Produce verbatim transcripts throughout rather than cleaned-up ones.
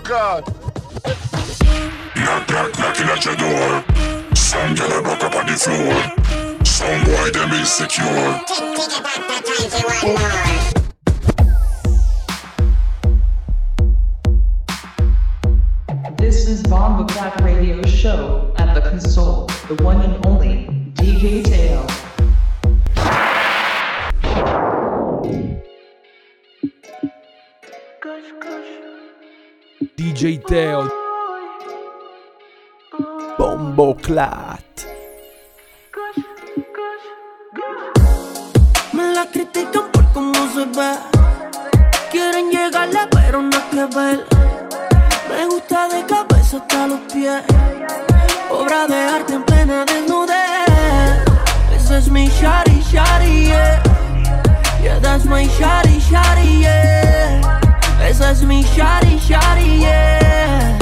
God. Knock, knock, knocking at your door. Some girl a broke up on the floor. Some boy them insecure. This is Bomba Clap Radio Show at the console, the one and only D J Teo. D J Teo Bomboclat. Me la critican por cómo se ve. Quieren llegarle pero no hay que ver. Me gusta de cabeza hasta los pies. Obra de arte en plena desnudez. Ese es mi shawty, shawty, yeah. Yeah, that's my shawty, shawty, yeah. Esa es mi shawty, shawty, yeah.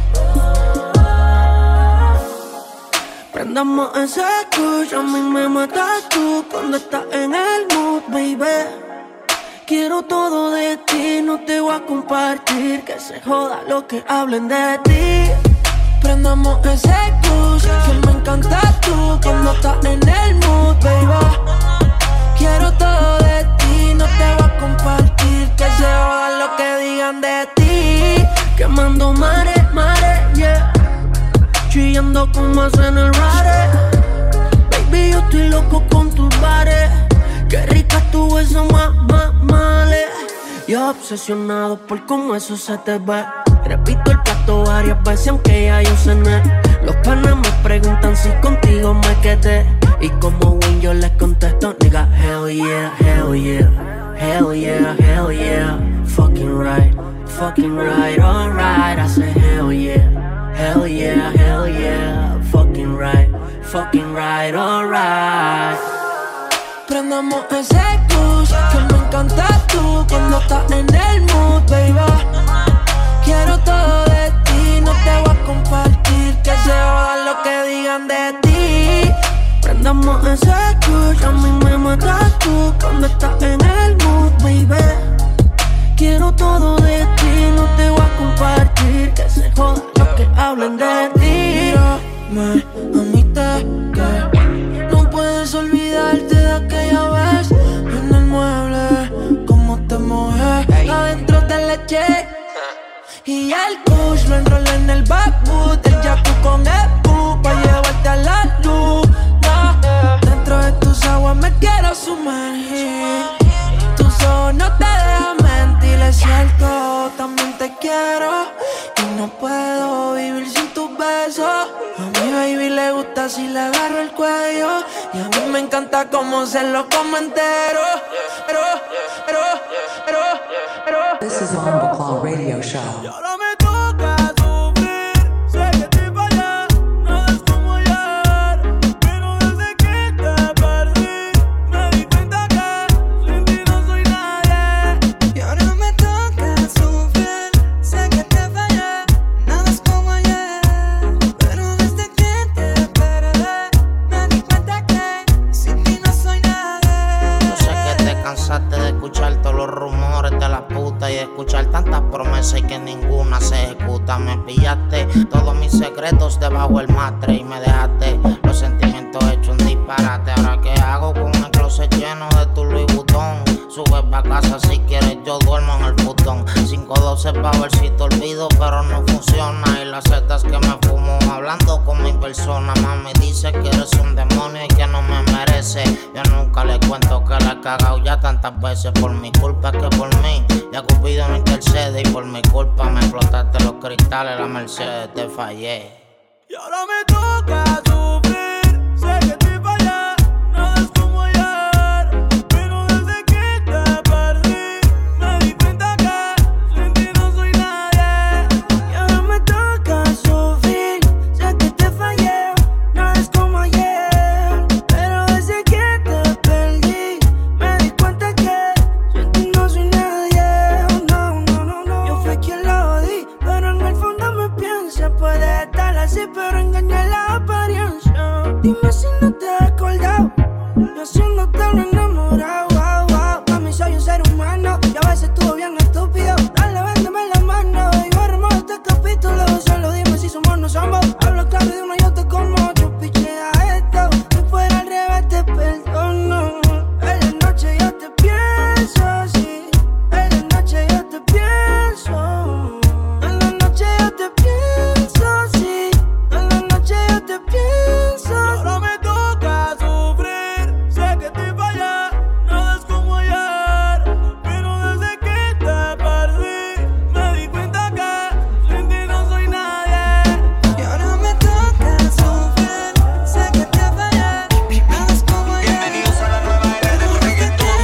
Prendamos ese kush, a mí me matas tú cuando estás en el mood, baby. Quiero todo de ti, no te voy a compartir, que se joda lo que hablen de ti. Prendamos ese kush, que me encantas tú cuando estás en el mood, baby. Quiero todo de ti, no te voy a compartir, que se joda lo que digan de ti. Quemando mares, mares, yeah. Chillando como hacen el rare. Baby, yo estoy loco con tus bares. Qué rica tu eso, mamá, male. Yo obsesionado por cómo eso se te ve. Repito el plato varias veces aunque ya yo cené. Los panas me preguntan si contigo me quedé. Y como win yo les contesto, nigga, hell yeah, hell yeah. Hell yeah, hell yeah. Fucking right, fucking right, alright. I say hell yeah. Hell yeah, hell yeah, fucking right, fucking right, alright. Prendamos ese kush, que me encantas tú cuando estás en el mood, baby. Quiero todo de ti, no te voy a compartir, que se joda lo que digan de ti. Prendamos ese kush, a mí me matas tú cuando estás en el mood, baby. Quiero todo de ti, no te voy a compartir, que se joda lo que hablen de ti. Mírame, amiste que no puedes olvidarte de aquella vez en el mueble, cómo te mojé adentro te le eché. Y el kush lo enrolé en el backwood, el yaku con el bu, pa' llevarte a la luz. No, dentro de tus aguas me quiero sumergir. Tus ojos no te dejan mentir, es cierto, también te quiero. Y no puedo vivir sin tus besos. A mi baby le gusta si le agarro el cuello. Y a mí me encanta cómo se lo come entero. Pero, pero, pero, pero. This is Bomba Clap Radio Show. Y ahora me toca sufrir. Sé que te fallé, no es como ayer. Pero desde que te perdí, me di cuenta que sin ti no soy nadie. Y ahora me toca sufrir. Sé que te fallé, nada es como ayer. Pero desde que te perdí, me di cuenta que sin ti no soy nadie. Yo sé que te cansaste de escuchar todos los rumores de la puta y de escuchar tantas promesas y que ninguna se ejecuta. Me pillaste todos mis secretos debajo del matre y me dejaste los sentimientos hechos un disparate. Ahora qué hago con el closet lleno de tu Louis Vuitton. Sube pa' casa si quieres, yo duermo en el futón. cinco doce pa' ver si te olvido, pero no funciona. Y las setas que me fumo hablando con mi persona. Mami dice que eres un demonio y que no me merece. Yo nunca le cuento que la he cagado ya tantas veces. Por mi culpa que por mí, ya Cupido no intercede. Y por mi culpa me explotaste los cristales, la Mercedes, te fallé. Y ahora me toca sufrir. Sé que te fallé, nada es como ayer. Pero desde que te perdí, me di cuenta que sin ti no soy nadie. Y ahora me toca sufrir. Sé que te fallé, nada es como ayer. Pero desde que te perdí, me di cuenta que sin ti no soy nadie. Oh, no, no, no, no. Yo fui quien lo di, pero en el fondo me piensa. Puede estar así, pero engañar la apariencia. Dime si no te has acordado, yo haciéndote lo enamorado. Wow, wow. Mami, soy un ser humano y a veces estuvo bien estúpido. Dale, véndeme la mano y borremos este buscar de uno yo te como, yo pichea esto. Si fuera al revés te perdono. En la noche yo te pienso, sí. En la noche yo te pienso. En la noche yo te pienso, sí. En la noche yo te pienso. Ahora me toca sufrir. Sé que te fallé, nada es como ayer. Pero desde que te perdí, me di cuenta que sin ti no soy nadie. Y ahora me toca sufrir. Sé que te fallé, nada es como ayer. Bienvenidos a la nueva era del reggaetón.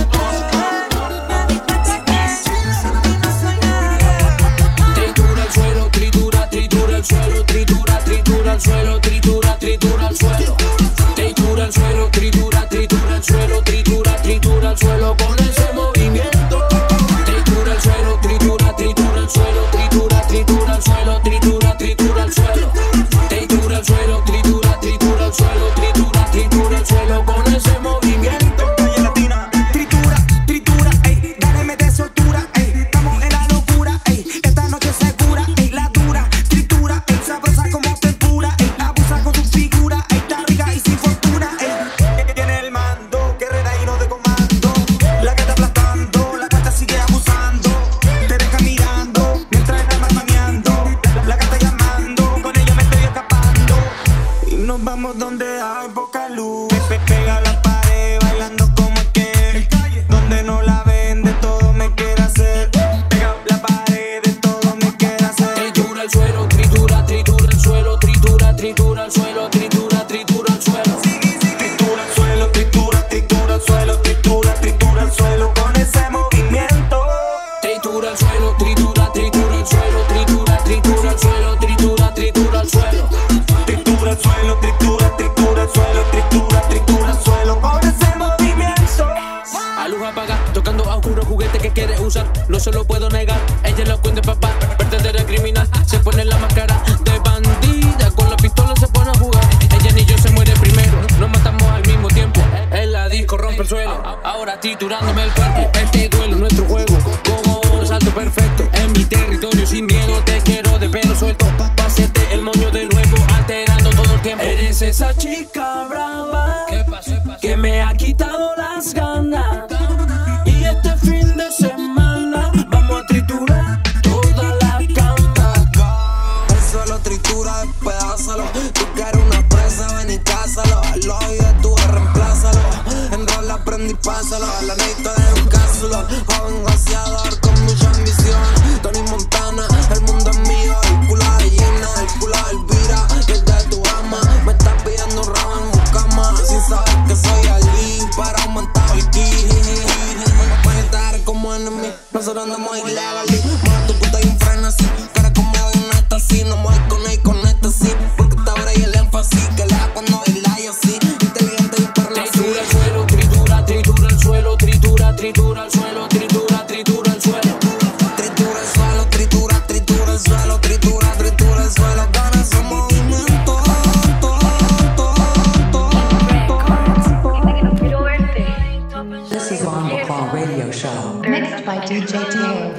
Me di cuenta que sin ti no soy nadie. Tritura el suelo, tritura, tritura el suelo, tritura, tritura el suelo, tritura, tritura el suelo. Tritura el suelo, tritura, tritura el suelo, tritura, tritura el suelo con ese movimiento. Tritura el suelo, tritura, tritura el suelo, tritura, tritura el suelo, tritura, tritura el suelo. Tritura el suelo, tritura, tritura el suelo, tritura, tritura el suelo con ese movimiento. Oye, latina, tritura, tritura, ey, dale, mete soltura, ey, estamos en la locura, ey, esta noche segura, ey, la dura, tritura, ey, sabrosa como tempura, ey, abusa con tu figura, ey, está rica y sin fortuna, ey, tiene el mando, guerrera y no de comando, la gata aplastando, la gata sigue abusando, te deja mirando, mientras el alma mameando, la gata llamando, con ella me estoy escapando, y nos vamos donde hay poca luz, pe- pe- pega la pared, bailando como es que, donde no la ven, de todo me quiere hacer, pega la pared, de todo me quiere hacer. Tritura el suelo, tritura, tritura el suelo, tritura, tritura el suelo, tritura, tritura el suelo. Tritura el suelo, tritura, tritura el suelo, tritura, tritura el suelo con ese movimiento. Tritura el suelo, tritura, tritura el suelo, tritura, tritura el suelo, tritura, tritura el suelo. Tritura el suelo, tritura, tritura el suelo, tritura, tritura el suelo con ese movimiento. A luz apagada, tocando a oscuro juguete que quiere usar. No se lo puedo negar, ella es la cuenta de papá, verdadera criminal. Se pone la máscara de bandida, con la pistola se pone a jugar. Ella ni yo se muere primero, nos matamos al mismo tiempo. En la disco rompe el suelo, ahora triturándome el cuerpo. Este duelo es nuestro juego, como un salto perfecto. En mi territorio sin miedo, te quiero de pelo suelto. Pa' hacerte el moño de nuevo, alterando todo el tiempo. Eres esa chica brava, que me ha quitado las ganas. Y este fin de semana vamos a triturar toda la cama. El suelo tritura, despedázalo. Tú quieres una presa, ven y cásalo. Al oído de tu reemplázalo. Enrola, prende y pásalo. A la neta de un cápsulo. Joven gaseador con mucha ambición. Tony Montana, el mundo es mío. El culo de Gina, el culo de Elvira. Y el de tu ama. Me estás pidiendo rabo en mi cama. Sin saber que soy Ali. Para aumentar el ki. Puedes estar como enemy. Nosotros andamos ilegal. Más tu puta y un freno así. Cara como de una así. No me voy con él con esta sí. Porque esta hora y el énfasis. Que le da cuando baila y así. Inteligente y perla así. Tritura el suelo, tritura, tritura el suelo, tritura, tritura el suelo, tritura, tritura el suelo. Tritura el suelo, tritura, tritura el suelo, tritura, tritura el suelo. Con ese movimiento. This is Bombo Claw Radio Show. Mixed by D J Taylor.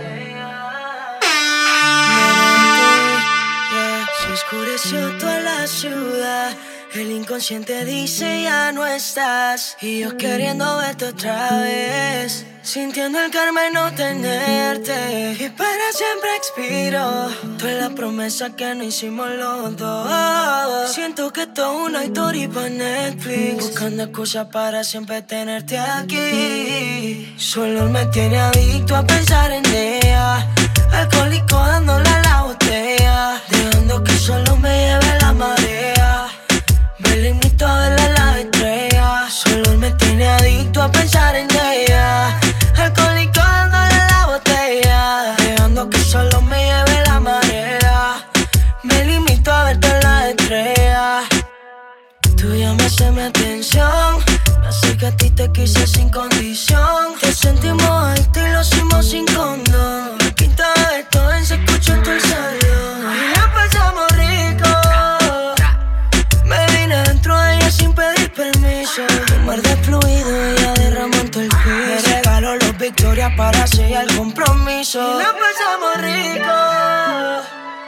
Se oscureció toda la ciudad. El inconsciente dice ya no estás. Y yo queriendo verte otra vez. Sintiendo el karma y no tenerte. Y para siempre expiro toda la promesa que no hicimos los dos. Siento que esto es una historia para Netflix. Buscando excusas para siempre tenerte aquí. Solo me tiene adicto a pensar en ella. Alcohólico dándole a la botella. Dejando que solo me lleve la marea. Me limito a verla las estrellas. Solo me tiene adicto a pensar en ella. Alcohólico dándole a la botella. Dejando que solo me lleve la marea. Me limito a verte en las estrellas. Tú llamas mi atención. Me hace que a ti te quise sin condición. Te sentimos alto y lo hicimos sin condón. La quinta vez todo se escuchó en todo el salón. Y la pasamos rico. Me vine dentro de ella sin pedir permiso. Un mar de fluido, ella derramó en todo el piso. Me regaló los Victorias para sellar el compromiso. Y la pasamos rico.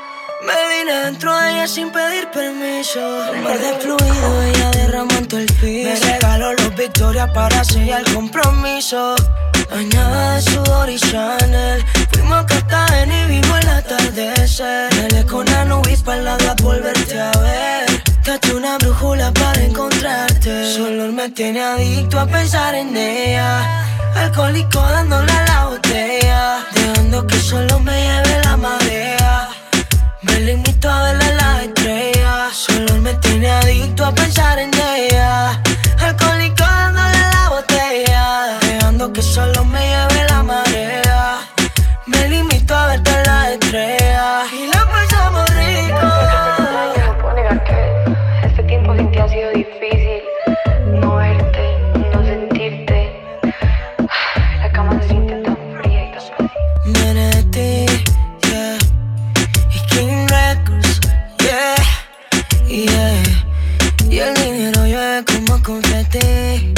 Me vine dentro de ella sin pedir permiso. Un mar de fluido, ella derramó en todo el piso. Me regaló los Victorias para sellar el compromiso. Bañada de sudor y Chanel. Fuimos a Cartagena y vimos el atardecer. Me le con la nube para la por verte a ver. Taché una brújula para encontrarte. Su olor me tiene adicto a pensar en ella. Alcohólico dándole a la botella. Dejando que solo me lleve la marea. Me limito a verle las estrellas. Su olor me tiene adicto a pensar en ella. Alcohólico dándole a la botella. Dejando que solo me lleve la marea. Me limito a verte en las estrellas. Y la pasamos rico. No puedo negar que este tiempo sin ti ha sido difícil. No verte, no sentirte. La cama se siente tan fría y tan fácil. Viene de ti, yeah. Y King Records, yeah, yeah. Y el dinero llueve como confeti.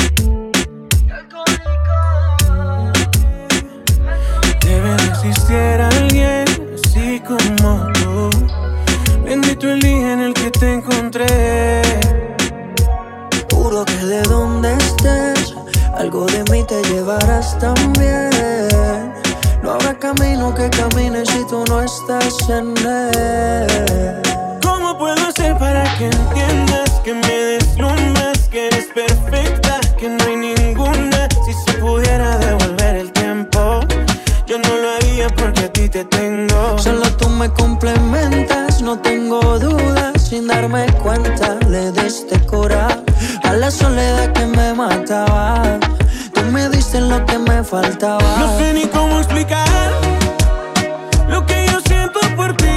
Debe de existir alguien así como tú. Bendito el día en el que te encontré. Juro que de donde estés, algo de mí te llevarás también. No habrá camino que camines si tú no estás en él. ¿Cómo puedo hacer para que entiendas que me deslumbras, que eres perfecta, que no hay ninguna? Si se pudiera devolver el tiempo, yo no lo haría porque a ti te tengo. Solo tú me complementas, no tengo dudas. Sin darme cuenta le diste cura a la soledad que me mataba. Tú me diste lo que me faltaba. No sé ni cómo explicar lo que yo siento por ti.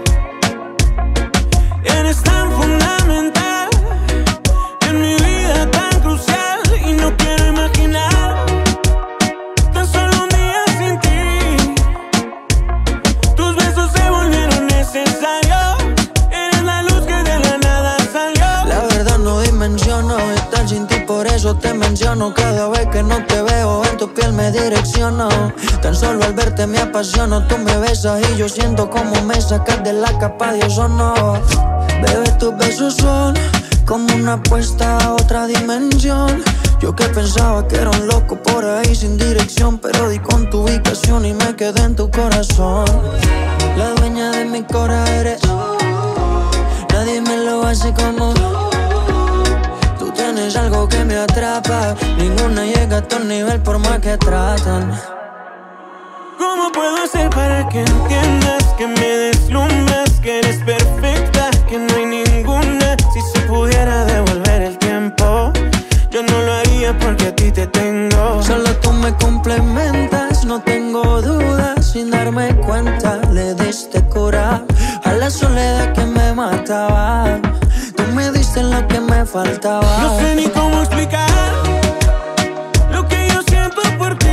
Eres tan fundamental en mi vida, tan crucial. Y no quiero imaginar tan solo un día sin ti. Tus besos se volvieron necesarios. Eres la luz que de la nada salió. La verdad no dimensiono estar sin ti, por eso te menciono. Cada vez que no te veo en tu piel me direcciono. Tan solo al verte me apasiono. Tú me besas y yo siento como me sacas de la capa de ozono. Bebé, tus besos son como una apuesta a otra dimensión. Yo que pensaba que era un loco por ahí sin dirección, pero di con tu ubicación y me quedé en tu corazón. La dueña de mi corazón eres tú. Nadie me lo hace como tú. Tienes algo que me atrapa. Ninguna llega a tu nivel por más que tratan. ¿Cómo puedo hacer para que entiendas que me deslumbras, que eres perfecta, que no hay ninguna? Si se pudiera devolver el tiempo, yo no lo haría porque a ti te tengo. Solo tú me complementas, no tengo dudas. Sin darme cuenta le diste cura a la soledad que me mataba. Tú me diste lo que me faltaba. No sé ni cómo explicar lo que yo siento por ti.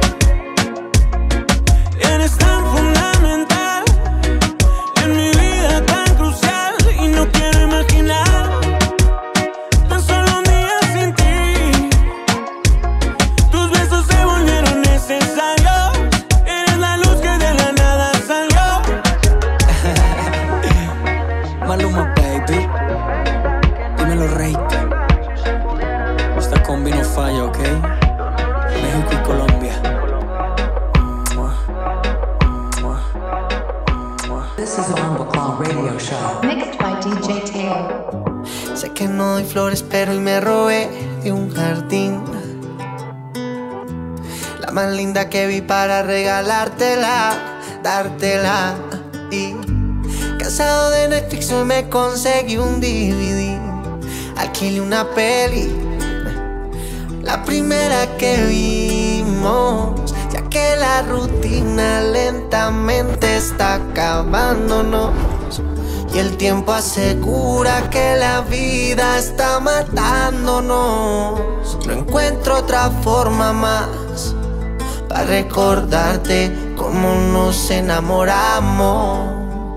Eres tan fundamental en mi vida, tan crucial. Y no quiero imaginar tan solo un día sin ti. Tus besos se volvieron necesarios. Eres la luz que de la nada salió. Maluma, baby. Dímelo, rey. Esta combi no falla, ¿ok? México y Colombia. This is a Rumble Clown Radio Show. Mixed by D J Teo. Sé que no doy flores, pero hoy me robé de un jardín la más linda que vi para regalártela, dártela. Y cansado de Netflix hoy me conseguí un D V D. Alquilé una peli, la primera que vimos, ya que la rutina lentamente está acabándonos. Y el tiempo asegura que la vida está matándonos. No encuentro otra forma más para recordarte cómo nos enamoramos.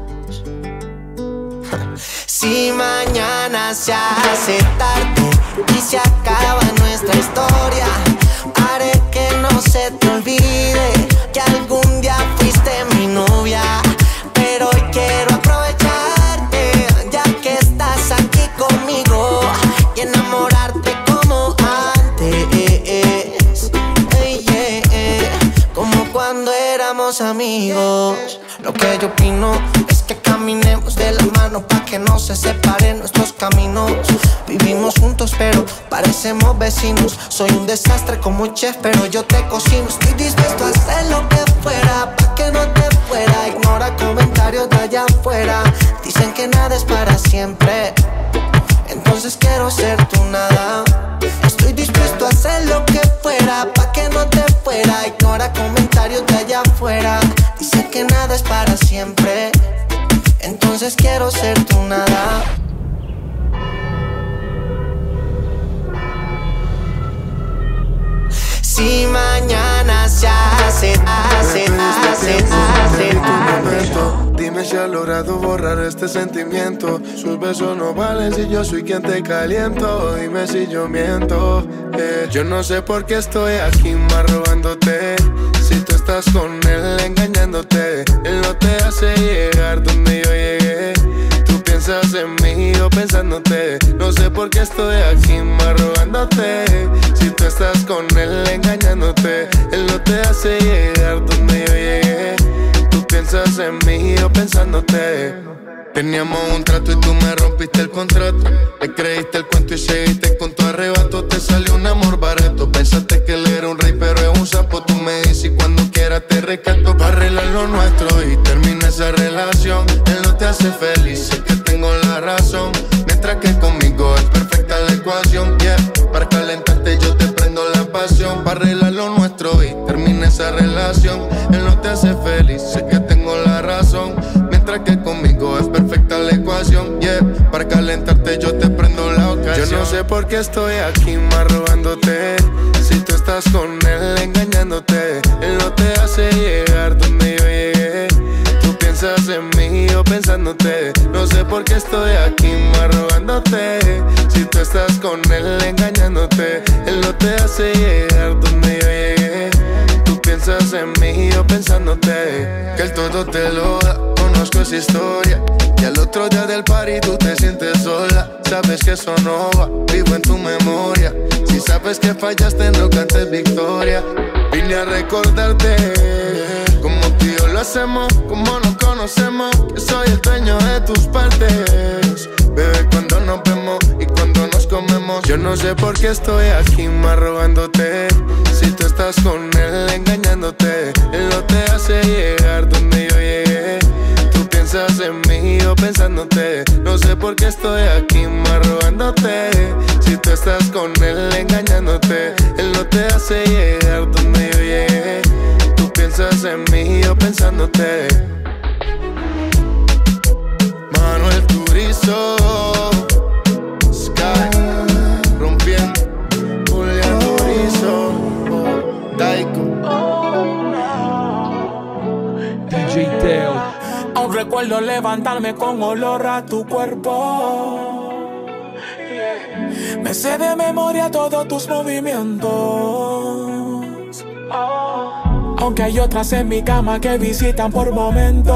Si mañana se hace tarde y se acaba nuestra historia, haré que no se te olvide que algún día fuiste mi novia. Pero hoy quiero aprovechar somos amigos. Lo que yo opino es que caminemos de la mano pa' que no se separen nuestros caminos. Vivimos juntos pero parecemos vecinos. Soy un desastre como un chef pero yo te cocino. Estoy dispuesto a hacer lo que fuera pa' que no te fuera. Ignora comentarios de allá afuera. Dicen que nada es para siempre, entonces quiero ser tu nada. Estoy dispuesto a hacer lo que fuera pa' que no te fuera. Ignora comentarios de allá afuera. Dicen que nada es para siempre, entonces quiero ser tu nada. Si mañana se hace, hace, hace, hace, hace. Dime si has logrado borrar este sentimiento. Sus besos no valen si yo soy quien te caliento. Dime si yo miento, eh. Yo no sé por qué estoy aquí más robándote. Si tú estás con él engañándote, él no te hace llegar donde yo llegué. Tú piensas en mí o pensándote. No sé por qué estoy aquí más robándote. Si tú estás con él engañándote, él no te hace llegar donde yo llegué. Tú piensas en mí o pensándote. Teníamos un trato y tú me rompiste el contrato. Me creíste el cuento y seguiste con tu arrebato. Te salió un amor barato. Pensaste que él era un rey pero es un sapo. Tú me dices y cuando quieras te rescato. Para arreglar lo nuestro y termina esa relación. Él no te hace feliz, sé que tengo la razón. Mientras que conmigo es perfecta la ecuación, yeah. Para calentarte yo te prendo la pasión. Para arreglar lo nuestro y termina esa relación. Él no te hace feliz, sé que tengo la razón. Mientras que conmigo es perfecta la ecuación, yeah. Para calentarte yo te prendo la ocasión. Yo no sé por qué estoy aquí más robándote. Si tú estás con él engañándote, él no te hace llegar donde yo llegué. Tú piensas en mí o pensándote. No sé por qué estoy aquí más robándote. Si tú estás con él engañándote, él no te hace llegar donde yo llegué. Tú piensas en mí o pensándote. Que él todo te lo da. Conozco esa historia y al otro día del party tú te sientes sola. Sabes que eso no va, vivo en tu memoria. Si sabes que fallaste no cantes victoria. Vine a recordarte como tú y yo lo hacemos, como nos conocemos. Que soy el dueño de tus partes, bebé, cuando nos vemos y cuando nos comemos. Yo no sé por qué estoy aquí más robándote. Si tú estás con él engañándote, él no te hace llegar donde yo llegué. Tú piensas en mí o pensándote. No sé por qué estoy aquí más robándote. Si tú estás con él engañándote, él no te hace llegar donde yo llegué. Tú piensas en mí o pensándote. Manuel Turizo, Sky, rompiendo, Julián Turizo, Daiko, D J Teo. Aún recuerdo levantarme con olor a tu cuerpo. Me sé de memoria todos tus movimientos. Aunque hay otras en mi cama que visitan por momentos,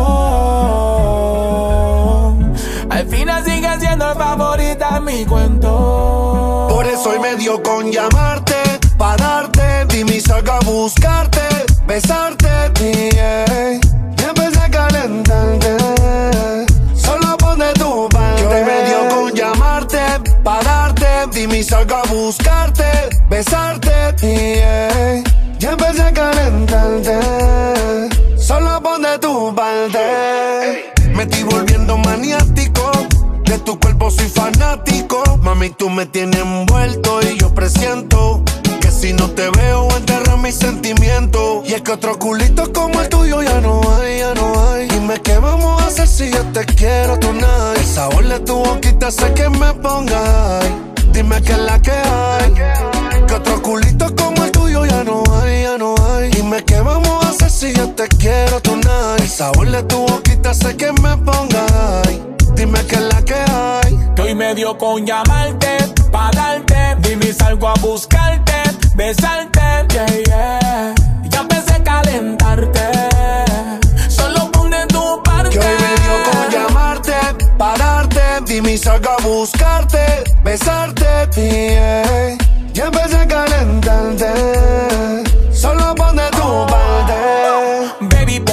al final sigue siendo favorita en mi cuento. Por eso hoy me dio con llamarte, pa' darte, dime y salgo a buscarte, besarte, yeah. Y empecé a calentarte, solo pon de tu parte. Hoy me dio con llamarte, pa' darte, dime y salgo a buscarte, besarte, yeah. Y empecé a calentarte, solo pon de tu parte. Me estoy volviendo maniático, de tu cuerpo soy fanático. Mami, tú me tienes envuelto y yo presiento que si no te veo enterras mis sentimientos. Y es que otro culito como el tuyo ya no hay, ya no hay. Dime qué vamos a hacer si yo te quiero tonight. El sabor de tu boquita hace que me ponga high. Dime qué es la que hay. Que otro culito como el tuyo ya no hay, ya no hay. Dime qué vamos a hacer si yo te quiero tonight. El sabor de tu boquita hace que me ponga high. Dime qué es la que hay. Que hoy me dio con llamarte, pa' darte, dime y salgo a buscarte, besarte, yeah, yeah. Ya empecé a calentarte, solo pon de tu parte. Que hoy me dio con llamarte, pa' darte, dime y salgo a buscarte, besarte, yeah. Ya empecé a calentarte, solo pon de tu parte. Baby,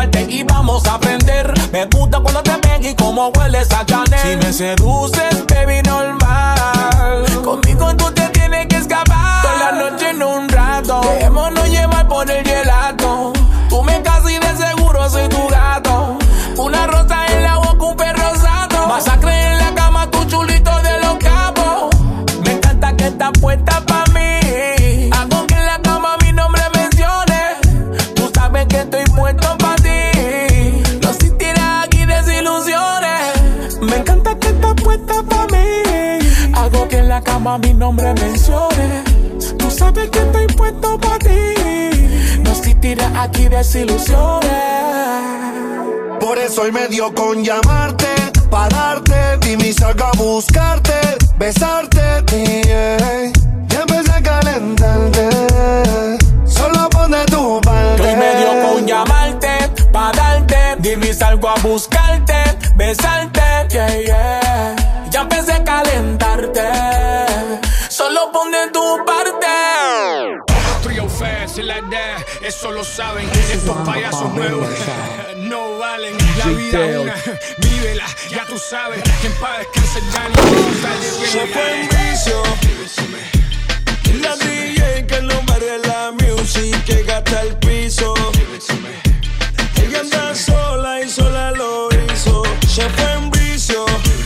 tocarte y vamos a aprender. Me gusta cuando te ven y cómo hueles a Chanel. Si me seduces, baby, normal. Conmigo tú te tienes que escapar. Toda la noche en un rato, dejémonos llevar por el gelato. Tú me casas y de seguro soy tu gato. Una rosa en la boca, un perro sato. Masacre en la cama, tu chulito de los capos. Me encanta que estás puesta pa' mí. Hago que en la cama mi nombre mencione. Tú sabes que estoy puesto pa' ti. No existirá aquí desilusiones. Me encanta que estás puesta pa' mí. Hago que en la cama mi nombre mencione. Tú sabes que estoy puesto pa' ti. No existirá aquí desilusiones. Por eso hoy me dio con llamarte, pa' darte, dime y salgo a buscarte, besarte, yeah. Ya empecé a calentarte, solo pon de tu parte. Hoy me dio con llamarte, pa' darte, dime y salgo a buscarte, besarte, yeah, yeah. Ya empecé a calentarte, solo pon de tu parte. Trio fast, like that, eso lo saben. Estos payasos nuevos no valen. La vida una, vívela, ya tú sabes. Que en paz descanse Dani. Se fue en vicio. La D J que no barre la music, que gasta el piso. Ella anda sola y sola lo hizo. Se fue en vicio.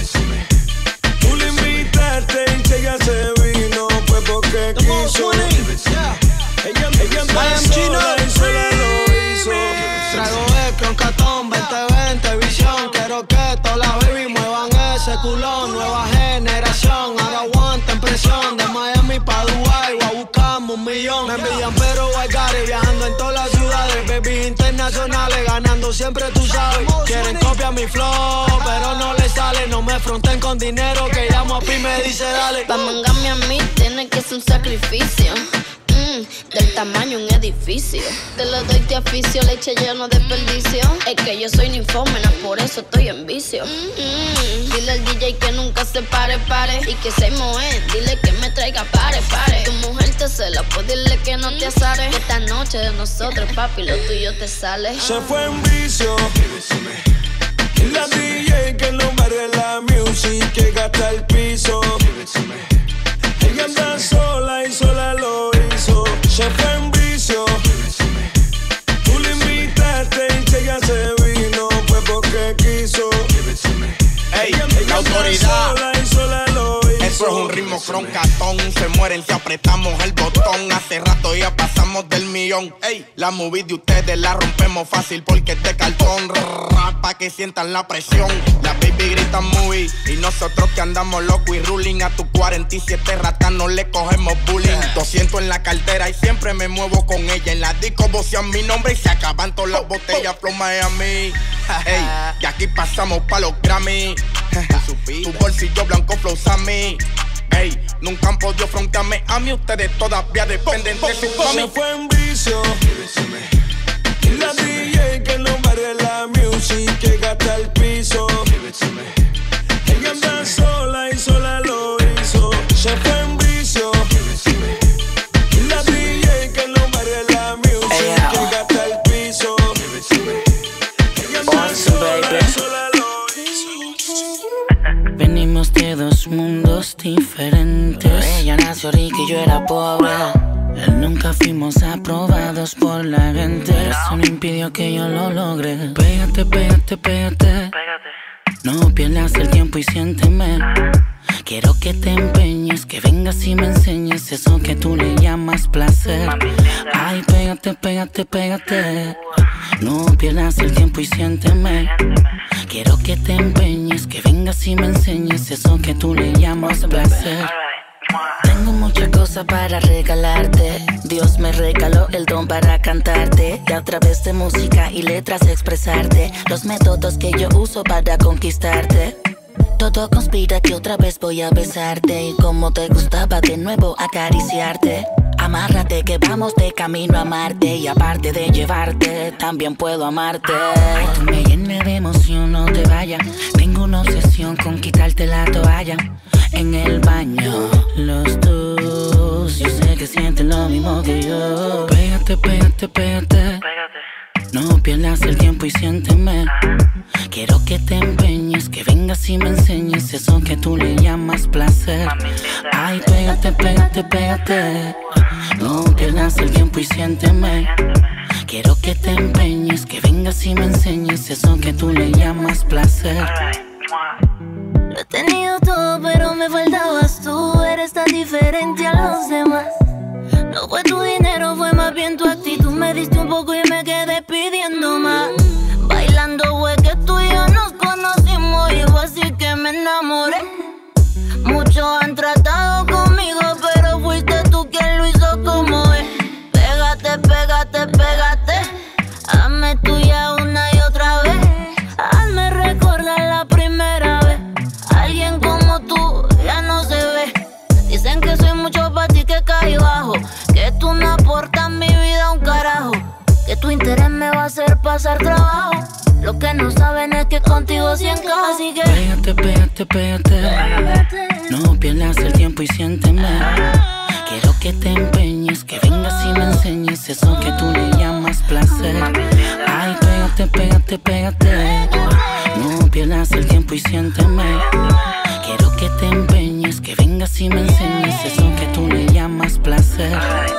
Tú le invitaste y si ella se vino, fue porque quiso. Ella, ella anda sola y sola lo hizo. Traigo el con catón, veinte veinte visión. Quiero que todas las baby muevan ese culón. Nueva generación, ahora aguanten presión. De Miami pa' Dubai, voy a buscarme un millón. Me envidian pero I got it, viajando en todas las ciudades. Baby internacionales, ganando siempre tú sabes. Quieren copiar mi flow, pero no les sale. No me fronten con dinero, que llamo a Pi me dice dale. Pa' mangarme a mí tiene que ser un sacrificio. Del tamaño un edificio. Te lo doy, te aficio, leche yo no desperdicio. Es que yo soy ninfómena, por eso estoy en vicio. Mm-hmm. Dile al D J que nunca se pare, pare. Y que se moe, dile que me traiga pare, pare. Tu mujer te cela, pues dile que no te azare. Esta noche de nosotros, papi, lo tuyo te sale. Se fue en vicio. La D J que no barre la music, que gasta el piso. Ella anda sola y sola lo hizo. Se fue en vicio. Tú le invitaste y si ella se vino, fue porque quiso. Ey, ella, la ella autoridad. Sola y sola lo hizo. Eso es un ritmo croncatón. Se mueren si apretamos el botón. Hace rato ya pasamos del millón. Ey, la movie de ustedes la rompemos fácil porque es de cartón. Rrr, pa' que sientan la presión. Las baby gritan movie y nosotros que andamos loco y ruling. A tu cuarenta y siete ratas no le cogemos bullying. doscientos en la cartera y siempre me muevo con ella. En la disco vocean mi nombre y se acaban todas las botellas. Flow Miami. Ey, y aquí pasamos pa' los Grammy. Tu bolsillo blanco flow Sammy. Ey, nunca han podido frontearme a mí. Ustedes todavía dependen de su mami. Se fue en vicio. La D J que no barre la music, que gasta el piso. Ella anda sola y sola lo hizo. Se fue en vicio. La D J que no barre la music, que gasta el piso. Ella anda sola y sola lo hizo. Venimos de dos mundos diferentes. Ella nació rica y yo era pobre. Nunca fuimos aprobados por la gente. Eso no impidió que yo lo logre. Pégate, pégate, pégate. No pierdas el tiempo y siénteme. Quiero que te empeñes, que vengas y me enseñes eso que tú le llamas placer. Ay, pégate, pégate, pégate. No pierdas el tiempo y siénteme. Quiero que te empeñes, que vengas y me enseñes eso que tú le llamas placer. Tengo muchas cosas para regalarte. Dios me regaló el don para cantarte y a través de música y letras expresarte los métodos que yo uso para conquistarte. Todo conspira que otra vez voy a besarte y como te gustaba de nuevo acariciarte. Amárrate que vamos de camino a Marte y aparte de llevarte, también puedo amarte. Ay, tú me llenas de emoción, no te vayas. Tengo una obsesión con quitarte la toalla. En el baño, los dos, yo sé que sienten lo mismo que yo. Pégate, pégate, pégate. No pierdas el tiempo y siénteme. Quiero que te empeñes, que vengas y me enseñes eso que tú le llamas placer. Ay, pégate, pégate, pégate. No pierdas el tiempo y siénteme. Quiero que te empeñes, que vengas y me enseñes eso que tú le llamas placer. Lo he tenido todo, pero me faltabas tú. Eres tan diferente a los demás. No fue tu dinero, fue más bien tu actitud. Me diste un poco y me quedé pidiendo más. Bailando fue que tú y yo nos conocimos y fue así que me enamoré. Muchos han tratado conmigo, pero fuiste tú quien lo hizo como es. Pégate, pégate, pégate. Hazme tuya una y otra vez. Hazme recordar la primera vez. Alguien como tú ya no se ve. Dicen que soy mucho para ti, que caí bajo, que tú no aportas mi vida un carajo, que tu interés me va a hacer pasar trabajo. Lo que no saben es que contigo sí encaja, así que pégate, pégate, pégate. No pierdas el tiempo y siénteme. Quiero que te empeñes, que vengas y me enseñes eso que tú le llamas placer. Ay, pégate, pégate, pégate. No pierdas el tiempo y siénteme. Quiero que te empeñes, que vengas y me enseñes eso que tú le llamas placer.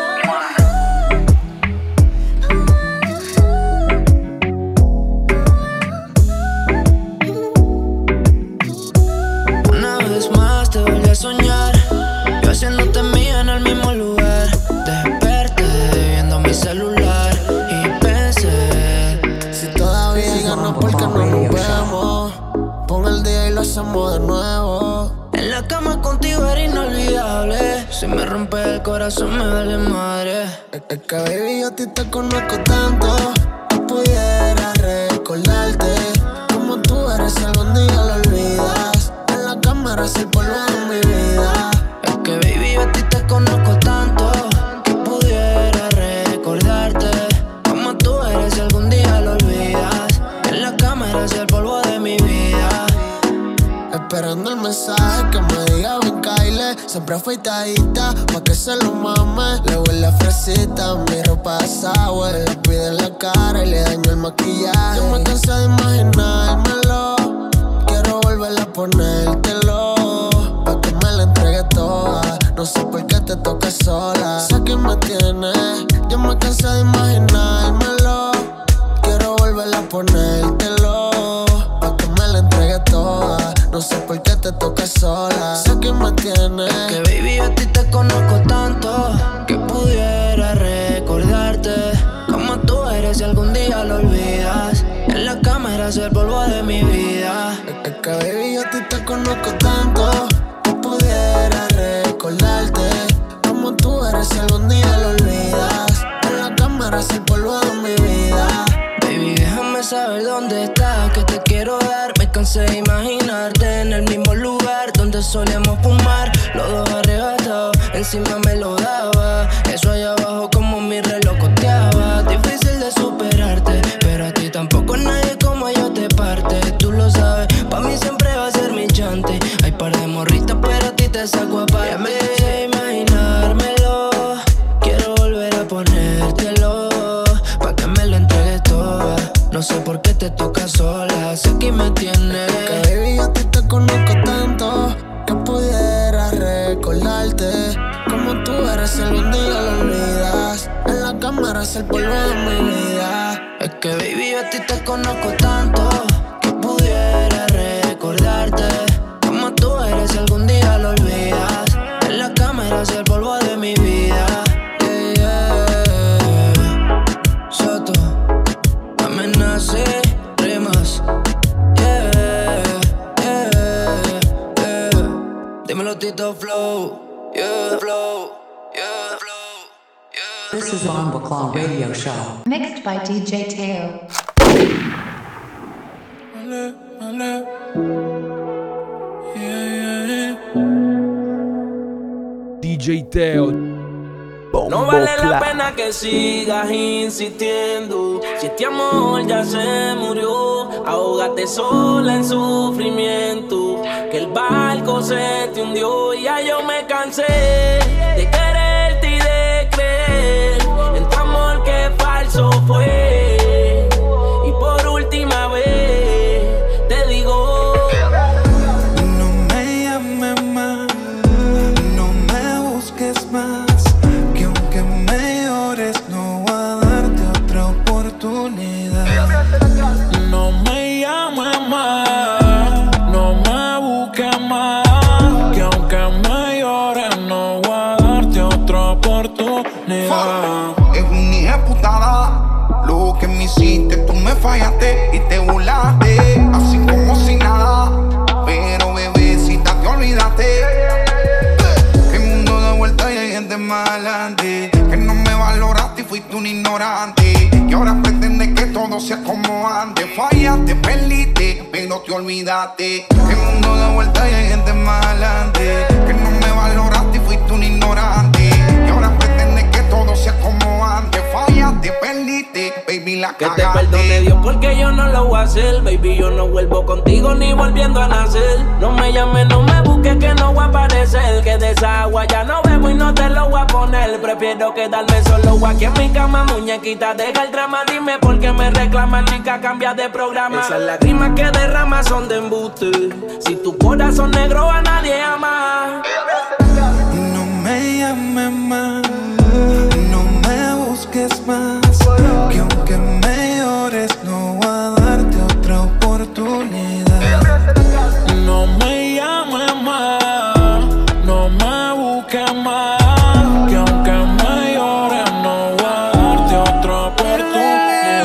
una vez más te volví a soñar, yo haciéndote mía en el mismo lugar. Desperté viendo mi celular y pensé, si todavía hay ganas, ¿por qué no nos vemos? Pon el día y lo hacemos de nuevo. En la cama contigo era inolvidable. Si me rompe el corazón me vale madre. Es, es que baby yo a ti te conozco tanto, que pudiera recordarte como tú eres si algún día lo olvidas. En la cámara es el polvo de mi vida. Es que baby yo a ti te conozco tanto, que pudiera recordarte como tú eres si algún día lo olvidas. En la cámara es el polvo de mi vida. Esperando el mensaje que me diga ven Kyle. Siempre afeitadita pa' que se lo mame. Le huele a fresita, mi ropa de sour. Le pide en la cara y le daño el maquillaje. Yo me cansé de imaginármelo, quiero volverla a ponértelo, pa' que me la entregue toda. No sé por qué te toca sola, sé que me tienes. Yo me cansé de imaginármelo, quiero volverla a ponértelo, pa' que me la entregue toda. No sé por qué te toca sola, sé que me tienes. Que baby yo a ti te conozco tanto, que pudiera recordarte como tú eres si algún día lo olvidas. En la cámara es el polvo de mi vida. Es que baby yo a ti te conozco tanto, que pudiera recordarte como tú eres si algún día lo olvidas. En la cámara es el polvo de mi vida. Baby déjame saber dónde estás, que te quiero dar. Me cansé de imaginarte en el mismo lugar donde solíamos fumar, los dos arrebatados, encima me lo daba. Eso allá abajo como mi reloj coteaba. Difícil de superarte, pero a ti tampoco nadie como yo te parte. Tú lo sabes, pa' mí siempre va a ser mi chante. Hay par de morritas, pero a ti te saco aparte. Ya me cansé de imaginármelo, quiero volver a ponértelo, pa' que me lo entregues toda. No sé por qué te toca sola, sé que me tienes. Que baby yo a ti te conozco tanto, que pudiera recordarte como tú eres si algún día lo olvidas. En la cámara es el polvo de mi vida. Es que baby yo a ti te conozco tanto, que pudiera recordarte como tú eres si algún día lo olvidas. En la cámara es el polvo de mi vida. Yeah, yeah. Soto, amenace, rimas. Yeah, yeah, yeah. Dímelo Tito Flow, yeah, flow, yeah, flow, yeah. This is Bomba Claw Radio Show. Mixed by D J Teo. Vale, vale. Yeah, yeah, yeah. D J Teo. No vale la pena que sigas insistiendo. Si este amor ya se murió, ahógate sola en sufrimiento. Que el barco se te hundió. Y ya yo me cansé de quererte y de creer en tu amor que falso fue. aunque me llores, no voy a darte otra oportunidad. Es una ejecutada. Lo que me hiciste, tú me fallaste y te burlaste, así como si nada. Pero bebecita, te olvidaste que el mundo da vuelta y hay gente más adelante, que no me valoraste y fuiste un ignorante, y ahora pretendes que todo sea como antes. Fallaste, perdiste, pero te olvidaste que el mundo da vuelta y hay gente más adelante, que no me valoraste y fuiste un ignorante, y ahora pretendes que todo sea como antes. Fallaste, perdiste, baby, la que cagaste. te perdone Dios porque yo no lo voy a hacer. Baby, yo no vuelvo contigo ni volviendo a nacer. No me llames, no me busques que no voy a aparecer, que de esa agua ya no bebo y no te lo voy a poner. Prefiero quedarme solo aquí en mi cama, muñequita, deja el drama. Dime por qué me reclamas, chica, cambia de programa. Esas lágrimas que derramas son de embuste. Si tu corazón negro a nadie ama. No me llames más, no me busques más, que aunque me llores no voy a darte otra oportunidad. No me llames más, no me busques más, que aunque me llores no voy a darte otra oportunidad.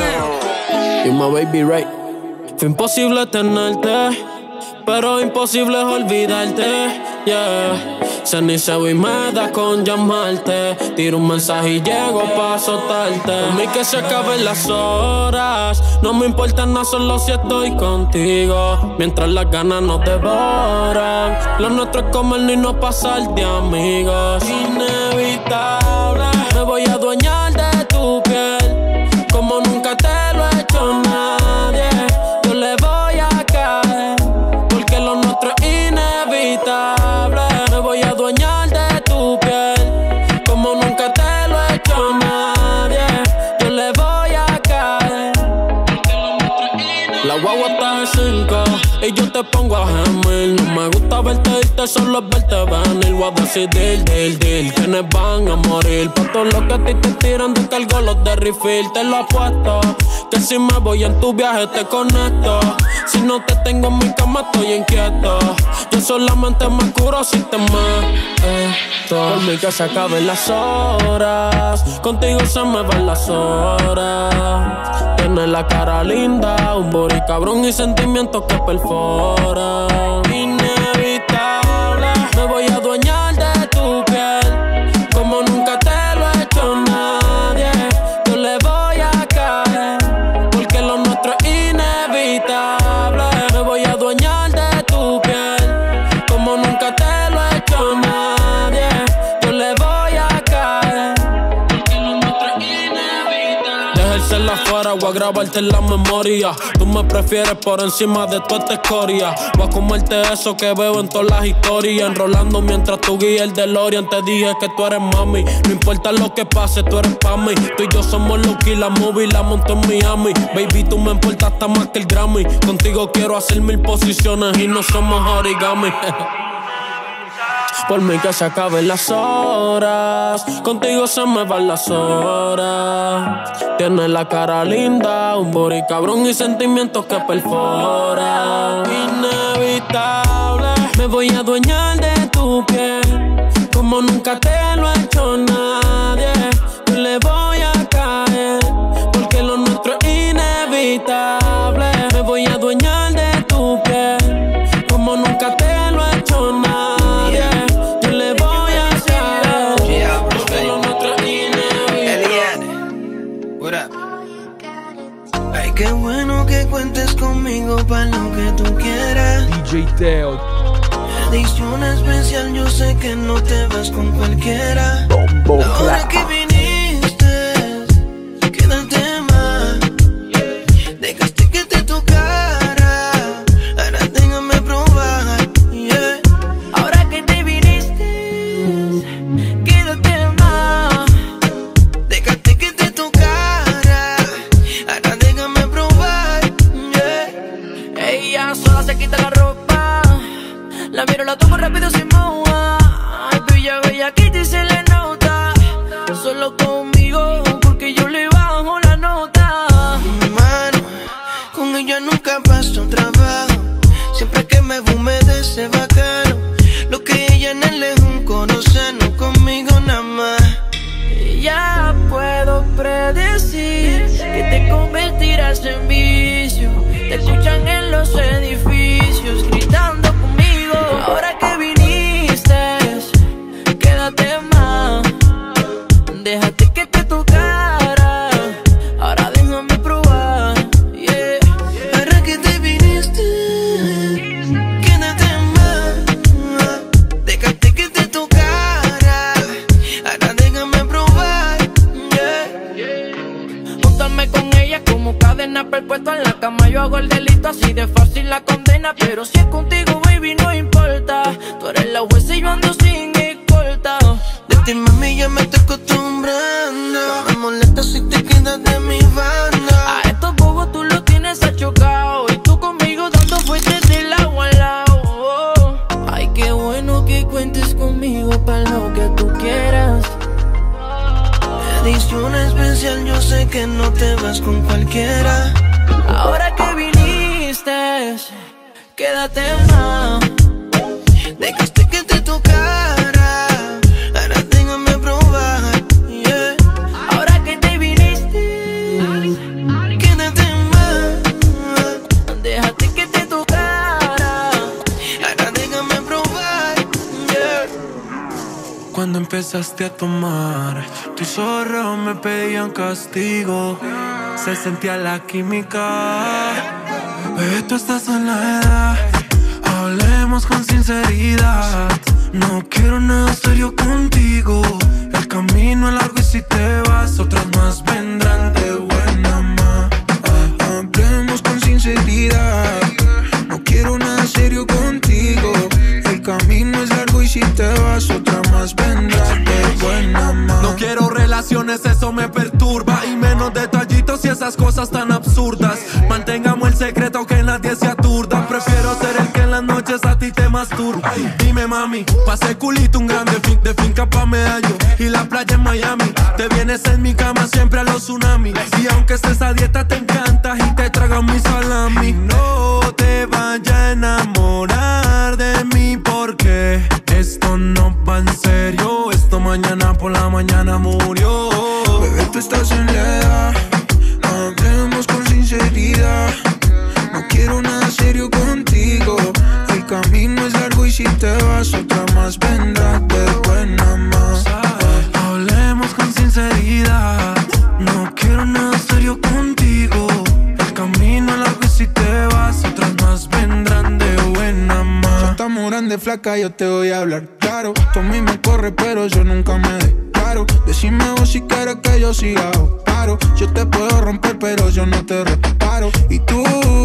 Y my baby right. Fue imposible tenerte, pero imposible es olvidarte, yeah. Cenizo y me da con llamarte. Tiro un mensaje y llego pa' azotarte. A mí que se acaben las horas, no me importa nada, solo si estoy contigo. Mientras las ganas nos devoran, lo nuestro es comer y no pasar de amigos. Inevitable, me voy a adueñar de tu piel como nunca te lo he hecho nadie. Yo le voy a caer porque lo nuestro es inevitable. Me voy a adueñar de tu piel como nunca te lo he hecho nadie. Yo le voy a caer porque lo nuestro es inevitable. La guagua está de cinco y yo te pongo a gemir. No me gusta verte irte, solo es verte venir. Voy a decidir, deal, deal, quienes van a morir. Por todo lo que a ti te tiran, descargo los de refill. Te lo apuesto, que si me voy en tu viaje te conecto. Si no te tengo en mi cama estoy inquieto. Yo solamente me curo si te meto. Por mí que se acaben las horas, contigo se me van las horas. Tienes la cara linda, un body cabrón y sentimientos que perforan. Inevitable, me voy a adueñar de tu piel como nunca te lo he hecho nadie. Yo le voy a caer porque lo nuestro es inevitable. Me voy a adueñar de tu piel como nunca te lo he hecho nadie. Yo le voy a caer porque lo nuestro es inevitable. Dejártela afuera, voy a grabarte en la memoria. Tú me prefieres por encima de toda esta escoria. Voy a comerte eso que veo en todas las historias. Enrolando mientras tú guías el DeLorean. Te dije que tú eres mami, no importa lo que pase, tú eres pa' mí. Tú y yo somos Lucky, la movie la monto en Miami. Baby, tú me importas hasta más que el Grammy. Contigo quiero hacer mil posiciones y no somos origami. Por mí que se acaben las horas, contigo se me van las horas. Tienes la cara linda, un body cabrón y sentimientos que perforan. Inevitable, me voy a adueñar de tu piel como nunca te lo ha hecho nadie. Yo le voy a caer porque lo nuestro es inevitable. Me voy a adueñar de tu piel como nunca te lo ha hecho nadie. Ay, qué bueno que cuentes conmigo para lo que tú quieras. D J Teo. Edición especial, yo sé que no te vas con cualquiera. Bombo Ahora que viniste, quédate más. Dejaste que te tocara, ahora déjame probar, yeah. Ahora que te viniste, quédate más. Dejaste que te tocara, ahora déjame probar, yeah. Ella sola se quita la ropa, la miro, la toco rápido sin moja. Ay, bella, bella, que te se le nota. Solo escuchan en los edificios gritando conmigo. Ahora que viniste, quédate más. Déjate que te tocara. Ahora déjame probar. Yeah. Ahora que te viniste, quédate más. Déjate que te tocara. Ahora déjame probar. Yeah. Júntame con ella como cadena perpetua en la cama. Yo hago el delito, así de fácil la condena. Pero si es contigo, baby, no importa. Tú eres la jueza y yo ando sin escolta. De ti, mami, ya me estoy acostumbrando. No me molesta si te quedas de mi banda. A estos bobos tú los tienes achocado. Y tú conmigo dando fuertes del agua al lado. Oh. Ay, qué bueno que cuentes conmigo para lo que tú quieras. Edición especial, yo sé que no te vas con cualquiera. Ahora que viniste, quédate más. Dejaste que te tocara. Ahora déjame probar. Yeah. Ahora que te viniste, quédate más. Déjate que te tocara. Ahora déjame probar. Yeah. Cuando empezaste a tomar, tus ojos me pedían castigo. Se sentía la química. Bebé, tú estás en la edad. Hablemos con sinceridad. No quiero nada serio contigo. El camino es largo y si te vas, otras más vendrán de buena ma. Hablemos con sinceridad. No quiero nada serio contigo. El camino es largo y si te vas, otra más vendrá de buena ma. No quiero relaciones, eso me perturba. Y menos detallitos y esas cosas tan absurdas. Mantengamos el secreto, que nadie se aturda. Prefiero ser el que en las noches a ti te masturba. Dime mami, pasé culito un grande fin, de finca pa' Medallo y la playa en Miami. Te vienes en mi cama siempre a los tsunamis. Y aunque estés a dieta te encantas y te tragas mi salami. No te vayas a enamorar de mí porque esto no va en serio. Esto mañana por la mañana murió. Bebé, tú estás en la edad. Hablemos con sinceridad. No quiero nada serio contigo. El camino es largo y si te vas, otra más vendrá de buena más. Hablemos con sinceridad. No quiero nada serio contigo. El camino es largo y si te vas, otras más vendrán de buena más. Ya estamos grande, flaca, yo te voy a hablar claro. Tú a mí me corre, pero yo nunca me declaro. Decime vos si quieres que yo siga o paro. Yo te puedo romper, pero yo no te reparo. Y tú,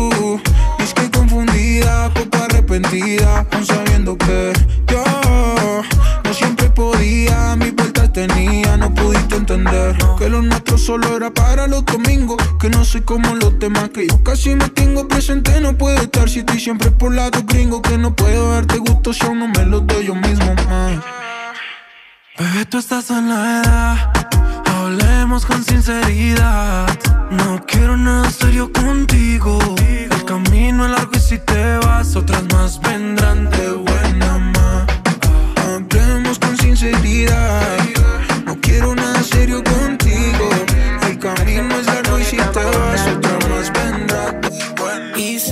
es que confundida, poco arrepentida, aun sabiendo que yo no siempre podía, mis vueltas tenía. No pudiste entender que lo nuestro solo era para los domingos. Que no soy como los demás, que yo casi me tengo presente. No puedo estar si estoy siempre por lado gringo. Que no puedo darte gusto si aún no me lo doy yo mismo, man. Bebé, tú estás en la edad. Hablemos con sinceridad. No quiero nada serio contigo. El camino es largo y si te vas, otras más vendrán de buena ma. Hablemos con sinceridad. No quiero nada serio contigo. El camino es largo y si te vas, otras más vendrán de buena ma. Y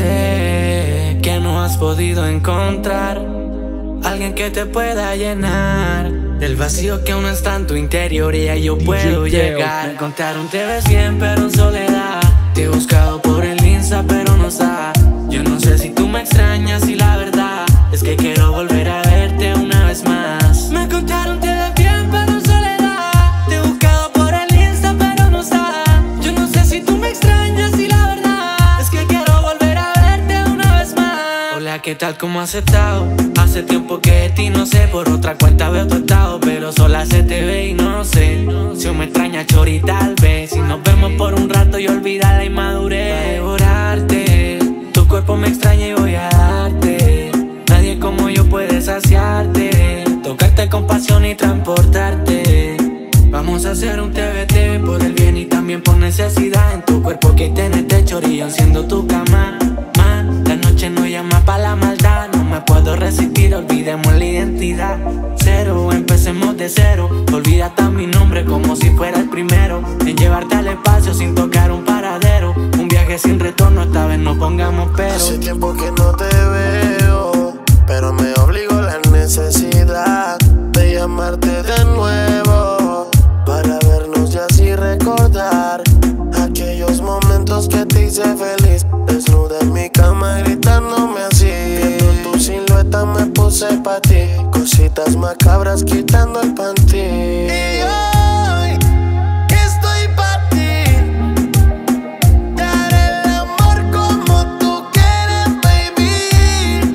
sé que no has podido encontrar alguien que te pueda llenar del vacío que aún está en tu interior y ahí yo puedo llegar. Me contaron te ves bien pero en soledad. Te he buscado por el Insta pero no está. Yo no sé si tú me extrañas y la verdad es que quiero volver a verte una vez más. Me contaron te ves bien pero en soledad. Te he buscado por el Insta pero no está. Yo no sé si tú me extrañas y la verdad es que quiero volver a verte una vez más. Hola, ¿qué tal? ¿Cómo has estado? Hace tiempo que de ti no sé, por otra cuenta veo tu estado, pero sola se te ve y no sé si me extraña chori tal vez. Si nos vemos por un rato y olvida la inmadurez. Va a devorarte, tu cuerpo me extraña y voy a darte. Nadie como yo puede saciarte, tocarte con pasión y transportarte. Vamos a hacer un T B T por el bien y también por necesidad. En tu cuerpo que tienes de chorrillo siendo tu cama. Ma, la noche no llama pa' la maldad. No me puedo resistir, olvidemos la identidad. Cero, empecemos de cero. Olvídate mi nombre como si fuera el primero. En llevarte al espacio sin tocar un paradero. Un viaje sin retorno, esta vez no pongamos pero. Hace tiempo que no te veo, pero me obligó la necesidad de llamarte de nuevo, para vernos y así recordar aquellos momentos que te hice feliz, desnuda en mi cama gritándome así. Viendo tu silueta me puse pa' ti, cositas macabras quitando el panty. Y hoy estoy pa' ti, te haré el amor como tú quieres, baby.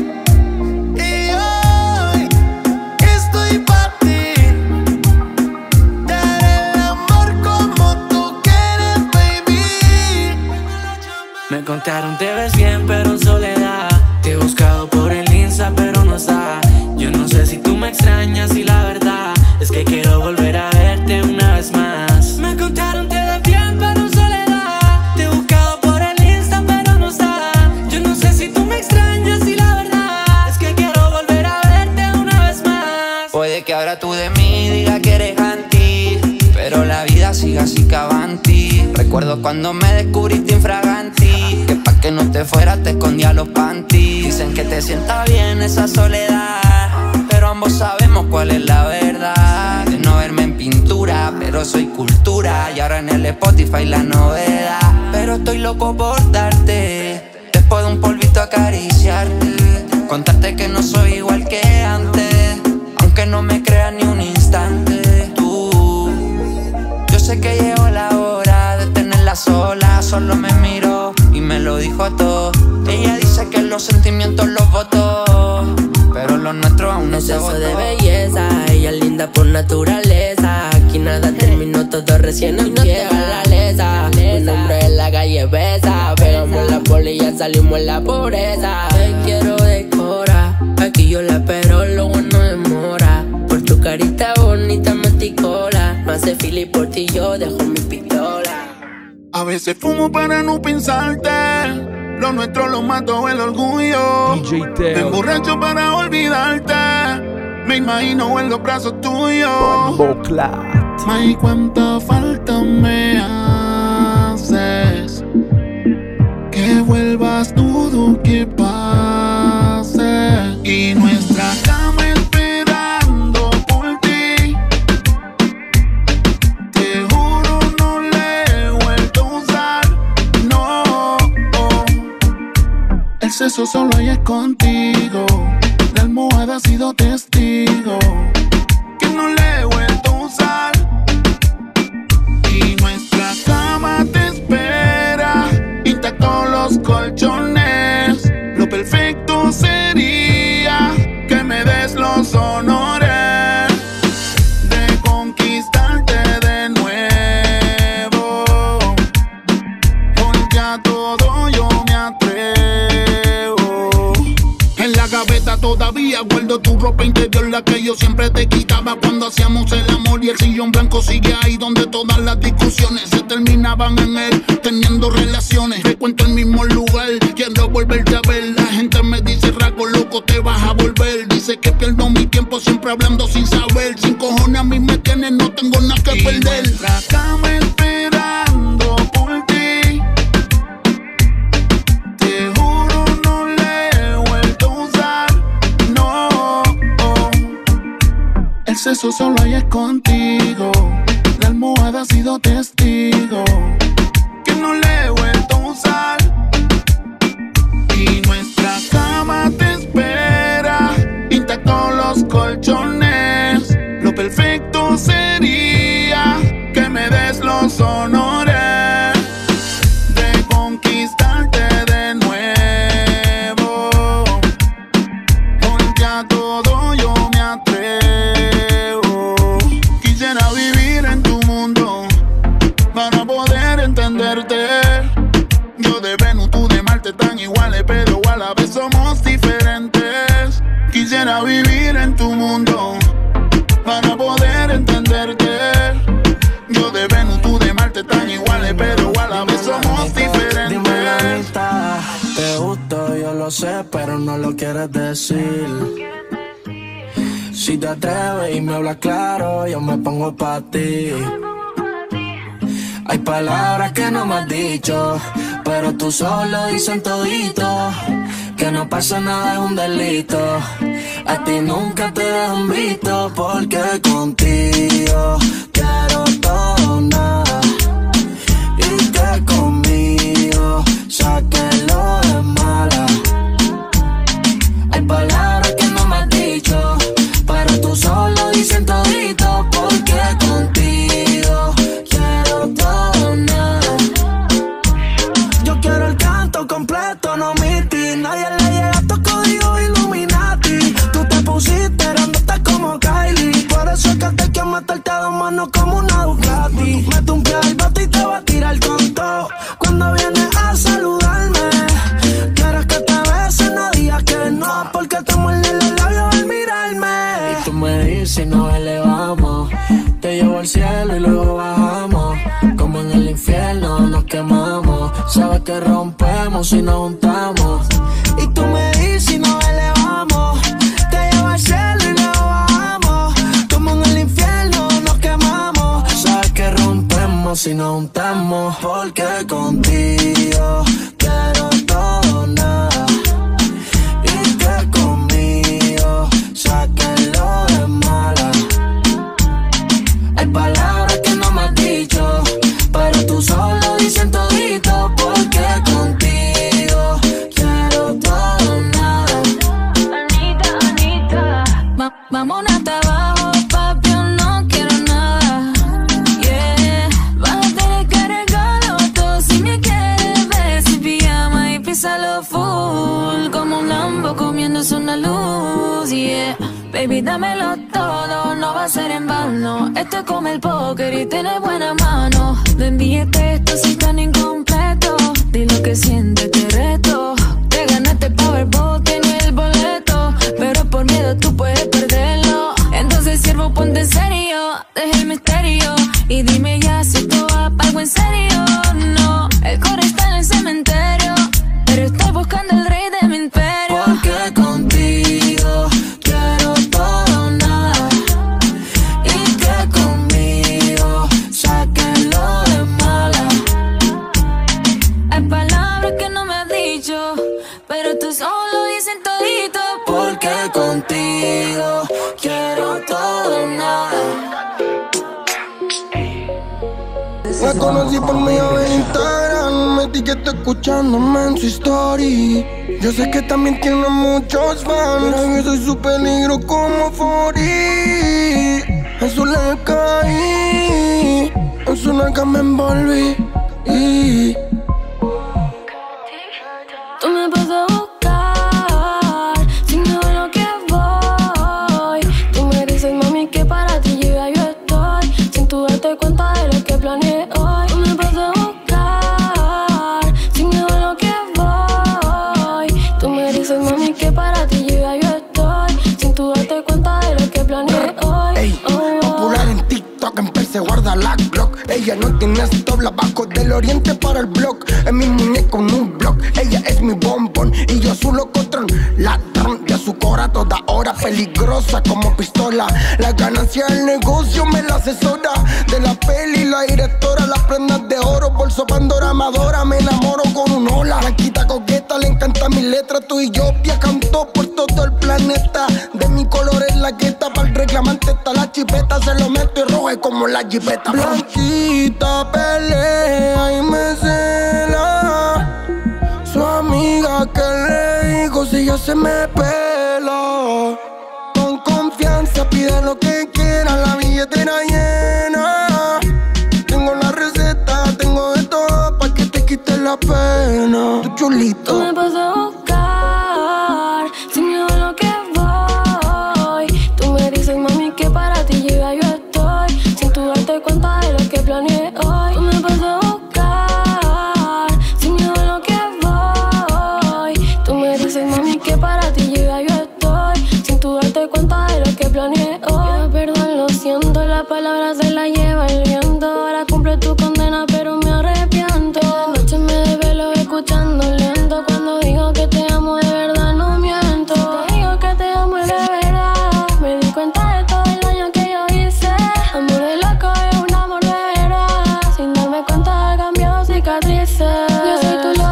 Y hoy estoy pa' ti, te haré el amor como tú quieres, baby. Me contaron te ves bien pero en soledad, te he buscado por el Insta pero no está. Yo no sé si tú me extrañas y la verdad es que quiero volver a verte una vez más. Me contaron te ves bien pero en soledad, te he buscado por el Insta pero no está. Yo no sé si tú me extrañas y la verdad es que quiero volver a verte una vez más. Puede que ahora tú de mí digas que eres anti, pero la vida sigue así que avanti. Recuerdo cuando me descubriste infraganti, que pa' que no te fueras te escondía los panties. Dicen que te sienta bien esa soledad, pero ambos sabemos cuál es la verdad. De no verme en pintura, pero soy cultura, y ahora en el Spotify la novedad. Pero estoy loco por darte, después de un polvito acariciarte, contarte que no soy igual que antes, aunque no me creas ni un instante. Tú, yo sé que llegó la hora de tenerla sola, solo me miró y me lo dijo todo. Ella dice que los sentimientos los votó, pero lo nuestro aún no se votó. Exceso de belleza, ella es linda por naturaleza. Aquí nada terminó, todo recién empieza. La lesa, mi nombre en la calle besa. Pegamos la poli y ya salimos en la pobreza. Te quiero decorar, aquí yo la espero, lo bueno demora. Por tu carita bonita metí cola, no hace fila y por ti yo dejo mi pistola. A veces fumo para no pensarte, lo nuestro lo mató el orgullo. D J Teo. Me emborracho para olvidarte, me imagino en los brazos tuyos. Ay, cuánta falta me haces, que vuelvas dudo que pase. Y nuestra cama esperando por ti, te juro no le he vuelto a usar, no. El sexo solo hay es contigo, la almohada ha sido testigo, que no le he vuelto a usar. Y nuestra cama te espera, intactos los colchones. Lo perfecto sería que me des los honores de conquistarte de nuevo. Porque a todo yo me atrevo. En la gaveta todavía guardo tu ropa interior, la que yo siempre te quitaba cuando hacíamos el amor. Y el sillón blanco sigue ahí donde todas las discusiones se terminaban en él, teniendo relaciones. Frecuento el mismo lugar, quiero volverte a ver. La gente me dice, Raco, loco, te vas a volver. Dice que pierdo mi tiempo siempre hablando sin saber. Sin cojones a mí me tienes, no tengo nada que y perder. Nuestra cama esperando por ti, te juro no le he vuelto a usar, no. El sexo solo hay es contigo, la almohada ha sido testigo, que no le he vuelto a usar. Y nuestra cama te espera, intactos los colchones. Lo perfecto sería que me des los honores de conquistarte de nuevo. Porque a todo yo me atrevo. Quisiera vivir en tu mundo para poder entenderte. Yo de Venus, tú de Marte, tan iguales, pero a la vez somos diferentes. Quisiera vivir en tu mundo para poder entenderte. Yo de Venus, tú de Marte, tan iguales, pero a la vez somos diferentes. Dime la mitad, te gusto, yo lo sé, pero no lo quieres decir. Si te atreves y me hablas claro, yo me pongo pa' ti. Hay palabras que no me has dicho, pero tú solo dicen todito que no pasa nada, es un delito. A ti nunca te dejan visto, porque contigo quiero todo o nada, y que conmigo saque lo de mala. Hay palabras que no me has dicho, pero tú solo dicen todito, porque contigo quiero todo o nada. Yo quiero el canto completo, no omití. Nadie le llega a tu código Illuminati. Tú te pusiste grandote como Kylie, por eso es que te quiero meterte a dos manos como una Ducati. Me tumbé al bote y te voy a tirar con todo. Cuando vienes a saludarme, quieres que te bese, no digas que no, porque te muerde los labios al mirarme. Y tú me dices si nos elevamos, te llevo al cielo y luego bajamos. Como en el infierno nos quemamos, sabes que rompemos si nos juntamos. Y tú me dices si nos elevamos, te llevo al cielo y luego bajamos. Como en el infierno nos quemamos, sabes que rompemos si nos juntamos. Porque contigo quiero todo o nada, y que conmigo saque lo de mala. Hay palabras que no me has dicho, pero tú solo dices todito, porque contigo quiero todo o nada. Anita, Anita, Va- vámonos hasta abajo, papi, yo no quiero nada. Yeah, vas a tener que arreglarlo todo si me quieres ver sin pijama y písalo full, como un Lambo comiéndose una luz. Yeah, baby, dámelo todo, no va a ser en vano. Esto es como el póker y tiene buena mano. No envíes texto si están incompleto, di lo que sientes, te reto. Te ganaste el Powerball, tienes el boleto, pero por miedo tú puedes perderlo. Entonces siervo, ponte en serio, deja el misterio y dime ya si esto va pa' algo en serio. No, el core está en el cementerio, pero estoy buscando el rey de mi imperio. Porque contigo quiero todo o nada, y que conmigo sáquenlo de mala. Hay palabras que no me has dicho, pero tú solo dices todito. Porque contigo quiero todo o nada. La conocí por medio de Instagram, me etiquetó escuchándome en su story. Yo sé que también tiene muchos fans, pero yo soy su peligro como Fori. En su le caí, en su nalga me envolví. Y tú me vas a buscar, sin saber lo que voy. Tú me dices, mami, que para ti yo ya yo estoy, sin tú darte cuenta de lo que planeé hoy. Tú me vas a buscar, sin saber lo que voy. Tú me dices, mami, que para ti yo ya yo estoy, sin tú darte cuenta de lo que planeé hoy. ey, popular en TikTok, empecé a guardar la Glock. Ella no tiene stop, la bajo del oriente para el blog. Es mi muñeco en un blog, ella es mi bombón y yo su locotrón. Ladrón de su cora toda hora, peligrosa como pistola. La ganancia del negocio me la asesora, de la peli la directora. Las prendas de oro, bolso Pandora Amadora. Me enamoro con un hola, blanquita coqueta, le encanta mi letra. Tú y yo viajando por todo el planeta, de mi color es la gueta. Para el reclamante está la chipeta, se lo meto y rojo como la jipeta. Blanquita pelea y me cela, su amiga que le dijo si ya se me pela. Con confianza pide lo que quiera, la billetera llena. Tengo la receta, tengo de todo pa' que te quite la pena. Tu chulito. Tú me vas a buscar, sin miedo a lo que voy. Tú me dices, mami, que para ti yo ya yo estoy, sin tú darte cuenta de lo que planeé hoy. Tú me vas a buscar, sin miedo a lo que voy. Tú me dices, mami, que para ti yo ya yo estoy, sin tú darte cuenta de lo que planeé hoy. Pido perdón, lo siento, la palabra se la lleva el viento. Ahora cumple tu condena, pero me arrepiento. De noche me desvelo escuchando lento, cuando digo que te amo de verdad no miento. Te digo que te amo y de verdad me di cuenta de todo el daño que yo hice. Amor de loco es un amor de verdad, sin darme cuenta he cambiado cicatrices. Yo soy tu loco.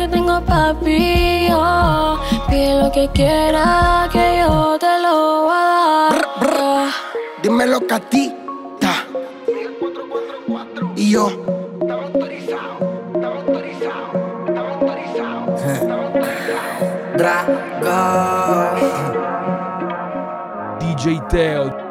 que tengo, papi. Oh, pide lo que quiera, que yo te lo voy a dar. Brr, brr. Dímelo, Catita. Y yo. Estaba autorizado, estaba autorizado, estaba autorizado. Dragon. D J Teo.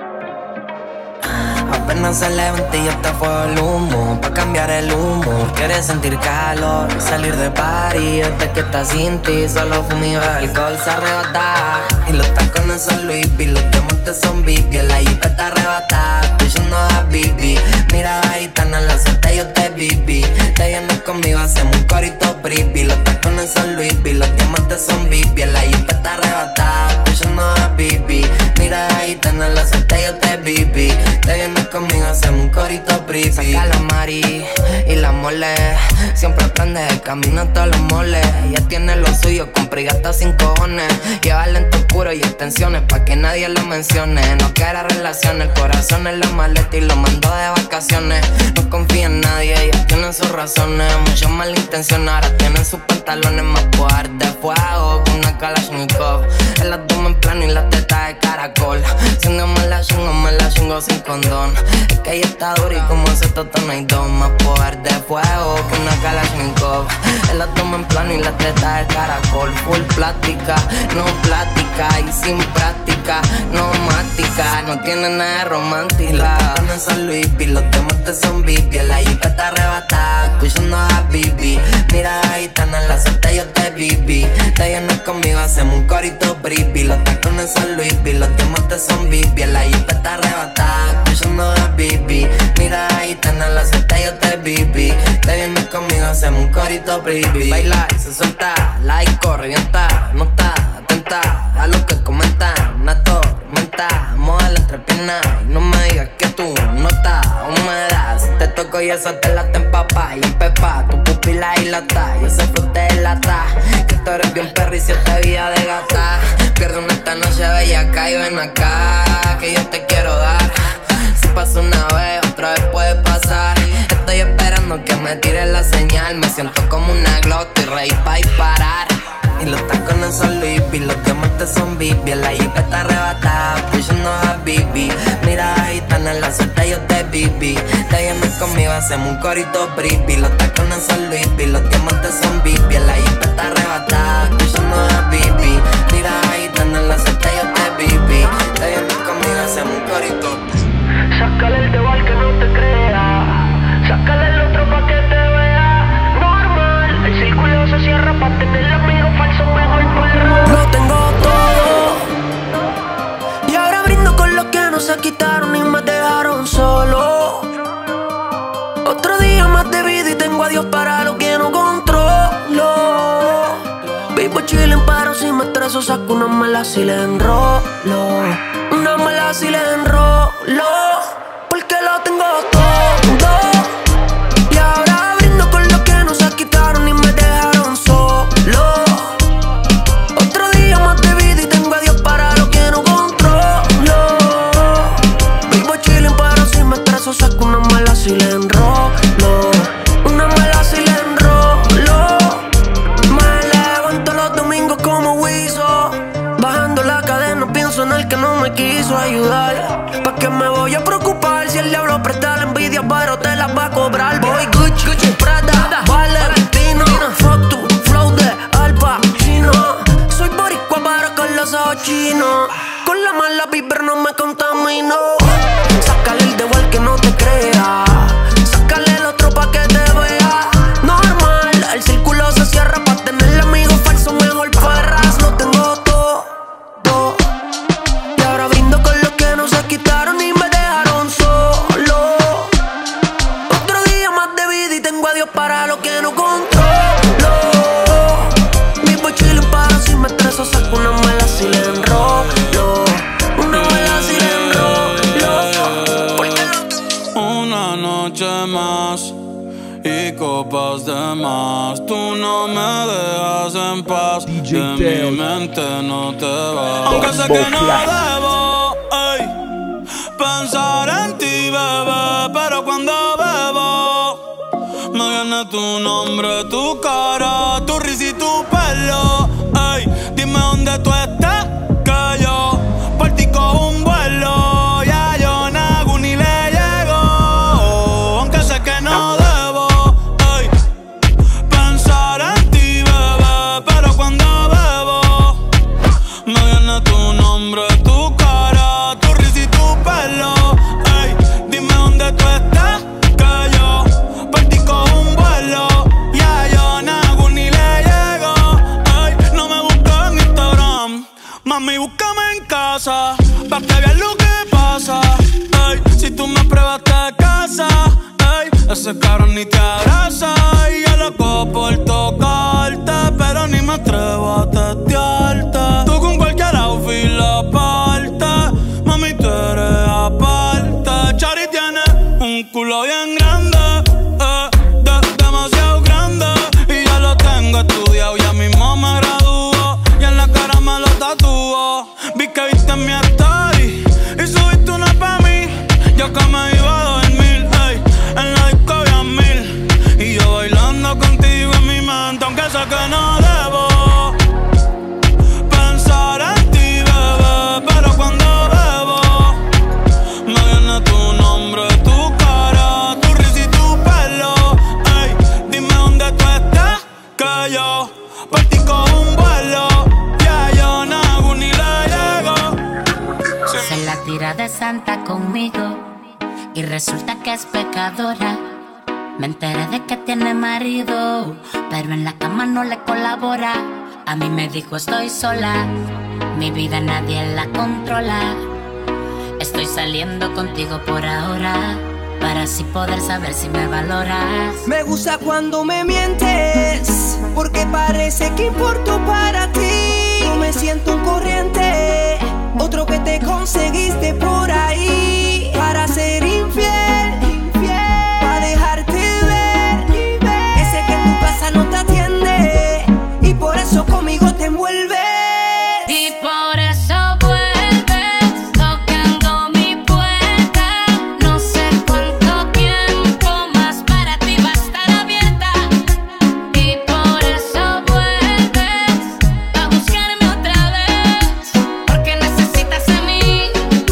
Apenas se levanta y ya está fuego el humo. Pa' cambiar el humo, quieres sentir calor, salir de party. Desde que estás sin ti, solo fumo y bebo alcohol, se arrebata. Y los tacones son Louis V, los diamantes son Bibi. La jipa está arrebatada, estoy yendo a Bibi. Mira, gitana, la suerte yo te viví. Te vienes conmigo, hacemos un corito bribi. Los tacones son Louis V, los diamantes son Bibi. La jipa está arrebatada, estoy yendo a Bibi. Mira, gitana, la suerte yo te viví. Te vienes conmigo, hacemos un corito bribi. Saca la mari y la mole. Siempre aprende el camino a todos los moles. Ella tiene lo suyo, compra y gasta sin cojones. Lleva lento oscuro y extensiones pa' que nadie lo mencione. No quiere relaciones, el corazón en la maleta y lo mandó de vacaciones. No confía en nadie, ellas tienen sus razones. Muchos malintencionados, ahora tienen sus pantalones más poder de fuego con una Kalashnikov. El abdomen plano y la teta de caracol. Siendo me la chingo, me la chingo sin condón. Es que ella está dura y como ese toto no hay dos. Más poder de fuego que una Kalashnikov. El abdomen plano y la teta de caracol. Full plástica, no plática y sin práctica, no mática. No tiene nada de romántica. Los son Louis V, los diamantes son Bibi. La jipa está arrebatada, escuchando a Bibi. Mira, gitana, la suerte yo te viví. Te vienes conmigo, hacemos un corito bribi. Los tacones son Louis V, los diamantes son Bibi. La jipa está arrebatada, escuchando a Bibi. Mira, gitana, la suerte yo te viví. Te vienes conmigo, hacemos un corito bribi. Baila y se suelta, la disco revienta. No está atenta a lo que comentan. Una tormenta, moda la entrepierna. Y no me digas que tú no estás humedad. Si te toco y eso te la empapa y empepa tu pupila y lata. Y ese fruto de lata. Que tú eres bien perri si te vida de gata. Pierde una esta noche bella acá y ven acá, que yo te quiero dar. Si pasa una vez, otra vez puede pasar. Estoy esperando que me tires la señal. Me siento como una glota y reír pa' disparar. Y los tacones son Louis V, los diamantes son Bibi. La jipa está arrebatada, estoy yendo a Bibi. Mira, gitana, la suerte yo te viví. Te vienes conmigo, hacemos un corito bribi. Los tacones son Louis V, los diamantes son Bibi. La jipa está arrebatada, estoy yendo a Bibi. Mira, gitana, la suerte yo te viví. Te vienes conmigo, hacemos un corito. Sácale el dedo al que no te crea. Sácale el otro pa' que te vea normal. El círculo se cierra pa' tener amigos falsos, mejor perra. Lo tengo todo y ahora brindo con los que no se quitaron y me dejaron solo. Otro día más de vida y tengo a Dios para lo que no controlo. Vivo chillin' pero si me estreso saco una mala si le enrolo. Una mala si le enrolo. Porque lo tengo todo y ahora brindo con los que no se quitaron y me dejaron solo. Otro día más de vida y tengo a Dios para lo que no controlo. Vivo chillin' pero si me estreso saco una mala si le enrolo. Una mala si le enrolo. Me levanto los domingos como Wiso, bajando la cadena pienso en el que no me quiso ayudar. ¿Pa' qué me voy a preocupar si el diablo presta la envidia pero te la va a cobrar? Voy Gucci, Gucci, Prada, Valentino. Fuck tu flow de Al Pacino. Soy boricua pero con los ojos chinos. Con la mala vibra no me contamino. Sácale el dedo al que no te crea. Sácale el otro pa' que te vea normal. El círculo se cierra pa' tener amigos falsos, mejor perras. Lo tengo todo y ahora brindo con los que no se quitaron y me dejaron solo. Otro día más de vida y tengo a Dios para lo que no controlo. Vivo chillin' para si me estreso saco una mala si le enrolo. Una mala si le enrolo. Una noche más y copas de más. Tú no me dejas en paz. D J De Teo. mi mente no te vas. Aunque sé que no debo ey, pensar en ti, bebé, pero cuando bebo me viene tu nombre, tu cara, tu risita ese cabrón ni te abraza. Y yo loco por tocarte, pero ni me atrevo a testearte. Tú con cualquier outfit la parte, mami tú eres aparte. Chari tiene un culo bien grande, eh, de, demasiado grande. Y ya lo tengo estudiado, ya mismo me graduó. Y en la cara me lo tatuó. Vi que viste en mi story y subiste una pa' mí. Yo que me iba a dormir, ey, en la disco había mil. Y yo bailando contigo en mi mente, aunque sé que no debo pensar en ti, bebé. Pero cuando bebo, me viene tu nombre, tu cara, tu risa y tu pelo. Ey, dime dónde tú estás, que yo por ti cojo un vuelo. Ya yo no hago ni le llego. Se la tira de santa conmigo y resulta que es pecadora. Me enteré de que tiene marido, pero en la cama no le colabora. A mí me dijo estoy sola, mi vida nadie la controla. Estoy saliendo contigo por ahora, para así poder saber si me valoras. Me gusta cuando me mientes, porque parece que importo para ti. No me siento un corriente, otro que te conseguiste por ahí. Para ser infiel, infiel, para dejarte ver, ver. Ese que en tu casa no te atiende, y por eso conmigo te envuelves. Y por eso vuelves, tocando mi puerta. No sé cuánto tiempo más para ti va a estar abierta. Y por eso vuelves a buscarme otra vez, porque necesitas de mí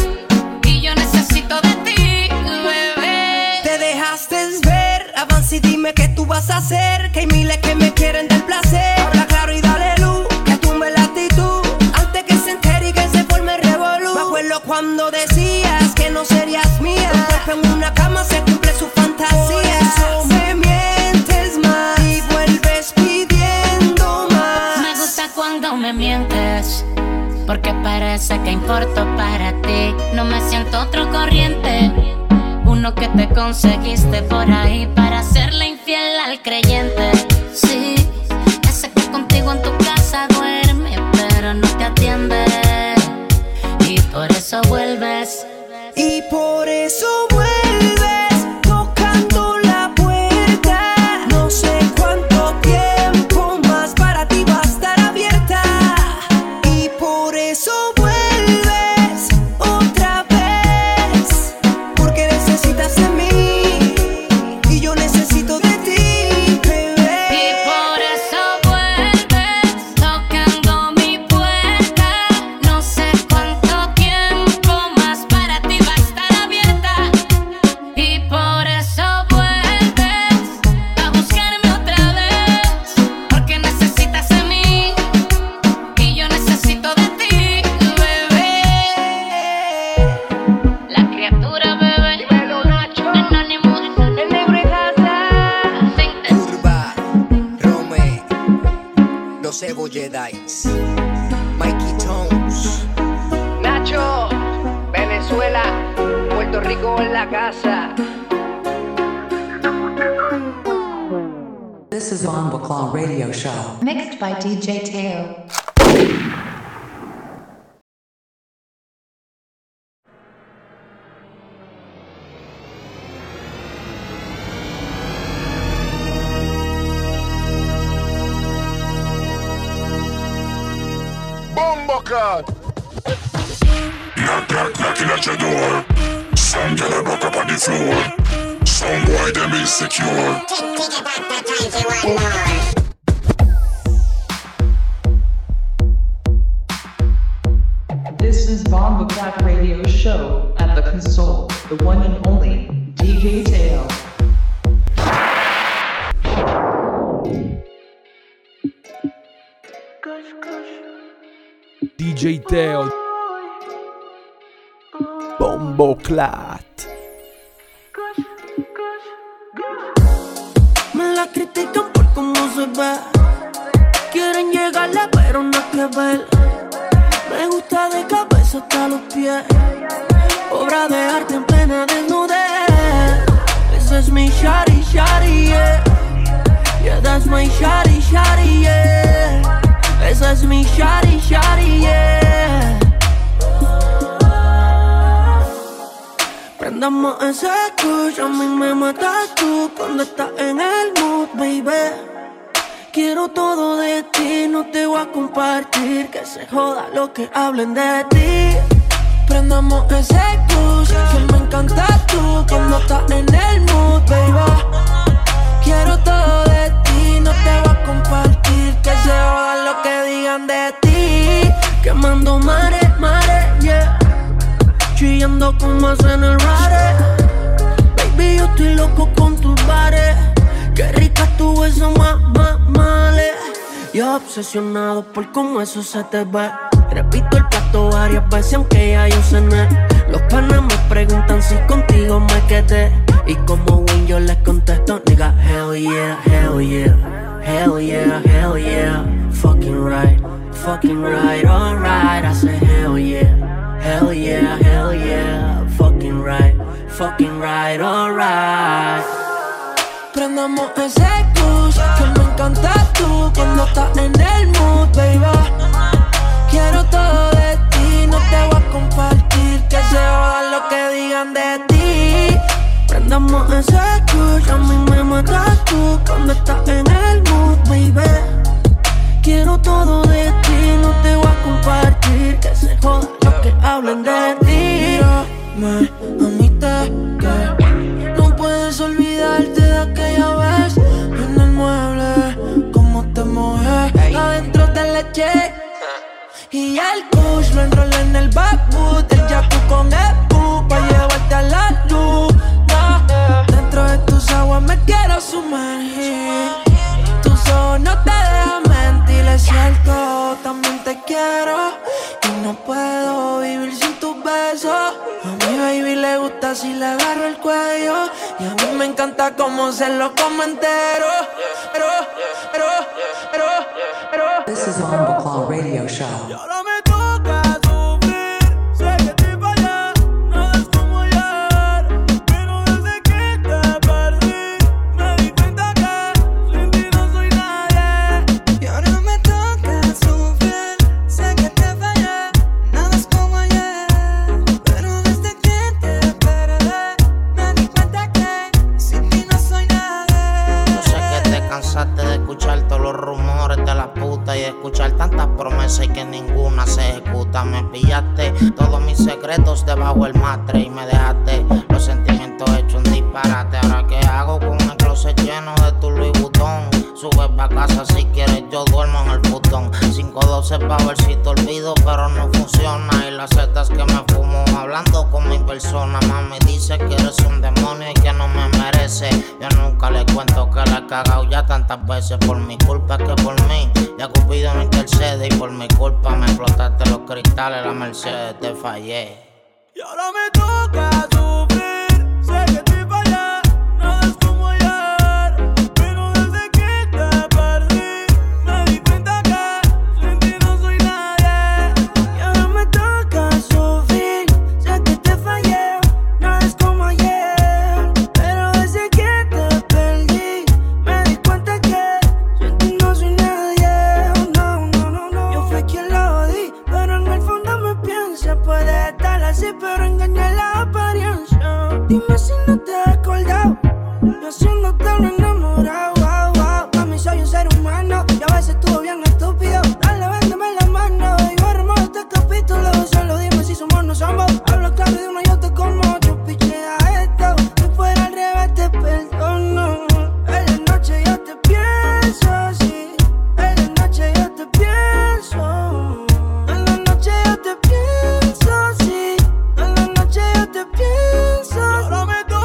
y yo necesito de ti, bebé. Te dejaste ver, avanza y dime qué tú vas a hacer. Que hay miles que me quieren del placer. Habla claro y dale luz, que tumbe la actitud, antes que se entere y que se forme revolú. Me acuerdo cuando decías que no serías mía. Un cuerpo en una cama se cumple su fantasía. Por eso me mientes más y vuelves pidiendo más. Me gusta cuando me mientes, porque parece que importo para ti. No me siento otro corriente, uno que te conseguiste por ahí para serle infiel al creyente. Sí, ese que contigo en tu casa duerme, pero no te atiende. Y por eso vuelves. Y por eso vuelves, tocando la puerta. No sé cuánto tiempo más para ti va a estar abierta. Y por eso vuelves otra vez, porque necesitas de mí y yo necesito de ti, bebé. Y por eso vuelves, tocando mi puerta. No sé cuánto tiempo más para ti va a estar abierta. Y por eso vuelves a buscarme otra vez, porque necesitas de mí y yo necesito de ti, bebé. La criatura, bebé. Anónimo. El negro en casa. Curva, Rome, los Evo Jedi's, Mikey Tones, Nacho, Venezuela, Puerto Rico en la casa. This is Bombo Claw Radio Show. Mixed by D J Teo. Bumbleclad. Knock, knock, knocking at your door. Some girl a buck up on the floor. Some boy them insecure. This is Bombo Clad Radio Show at the console, the one and only D J Teo. D J Teo, Bumbleclad. Me la critican por cómo se ve. Quieren llegarle pero no hay que ver. Me gusta de cabeza hasta los pies. Obra de arte en plena desnudez. Ese es mi shawty, esa es mi shawty, shawty, yeah. Esa es mi shawty, shawty, yeah. Prendamos ese kush, a mí me matas tú cuando estás en el mood, baby. Quiero todo de ti, no te voy a compartir, que se joda lo que hablen de ti. Prendamos ese kush, que me encantas tú cuando estás en el mood, baby. Quiero todo de ti, no te voy a compartir, que se joda lo que digan de ti. Quemando mares, mares, yeah. Chillando como hacen el rare. Baby, yo estoy loco con tus bares. Qué rica tu eso, más, más, male. Yo obsesionado por cómo eso se te ve. Repito el plato varias veces aunque ya yo cené. Los panas me preguntan si contigo me quedé. Y como Wayne yo les contesto, nigga, hell yeah, hell yeah. Hell yeah, hell yeah. Fucking right, fucking right, alright. I say hell yeah. Hell yeah, hell yeah, fucking right, fucking right, alright. Prendamos ese kush, que me encantas tú cuando estás en el mood, baby. Quiero todo de ti, no te voy a compartir, que se joda lo que digan de ti. Prendamos ese kush, a mí me matas tú cuando estás en el mood, baby. Quiero todo de ti, no te voy a compartir, que se joda lo que hablen de ti. Mírame, mamita, que no puedes olvidarte de aquella vez en el mueble, cómo te mojé adentro del leche. Y el kush lo enrolé en el backwood, el jacuzzi con Epu pa' llevarte a la luz. No, dentro de tus aguas me quiero sumergir. Tus ojos no te dejan mentir, es cierto, también te quiero. Y no puedo vivir sin tus besos. A mi baby le gusta si le agarro el cuello. Y a mí me encanta cómo se lo come entero. Pero, pero, pero, pero. This is a Humble Claw radio show. Y ahora me toca sufrir. Sé que te fallé, nada es como ayer. Pero desde que te perdí, me di cuenta que sin ti no soy nadie. Y ahora me toca sufrir. Sé que te fallé, nada es como ayer. Pero desde que te perdí, me di cuenta que sin ti no soy nadie. Yo sé que te cansaste de escuchar todos los rumores de la puta y de escuchar tantas promesas y que ninguna se ejecuta. Me pillaste todos mis secretos debajo del matre y me dejaste los sentimientos hechos un disparate. Ahora qué hago con el closet lleno de tu Louis Vuitton. Subes pa' casa si quieres, yo duermo en el futón. cinco doce pa' ver si te olvido, pero no funciona. Y las setas que me fumo hablando con mi persona. Mami dice que eres un demonio y que no me merece. Yo nunca le cuento que la he cagado ya tantas veces. Por mi culpa que por mí, ya Cupido no intercede. Y por mi culpa me explotaste los cristales, la Mercedes, te fallé. Y ahora me toca sufrir. Sé que te fallé, nada es como ayer. Pero desde que te perdí, me di cuenta que sin ti no soy nadie. Y ahora me toca sufrir. Sé que te fallé, nada es como ayer. Pero desde que te perdí, me di cuenta que sin ti no soy nadie. Oh, no, no, no, no. Yo fui quien lo di, pero en el fondo me piensa. Puede estar así, pero engaña la apariencia. Dime si no te has acordado, yo haciéndote lo enamorado. Wow, wow. Mami, soy un ser humano y a veces estuvo bien estúpido. Dale, véndeme la mano y borremos este capítulo. Solo dime si somos o no somos. Hablo claro de uno y yo te como. Yo pichea esto, si fuera al revés te perdono. En la noche yo te pienso así. En la noche yo te pienso. En la noche yo te pienso así. En la noche yo te pienso. Y ahora me toca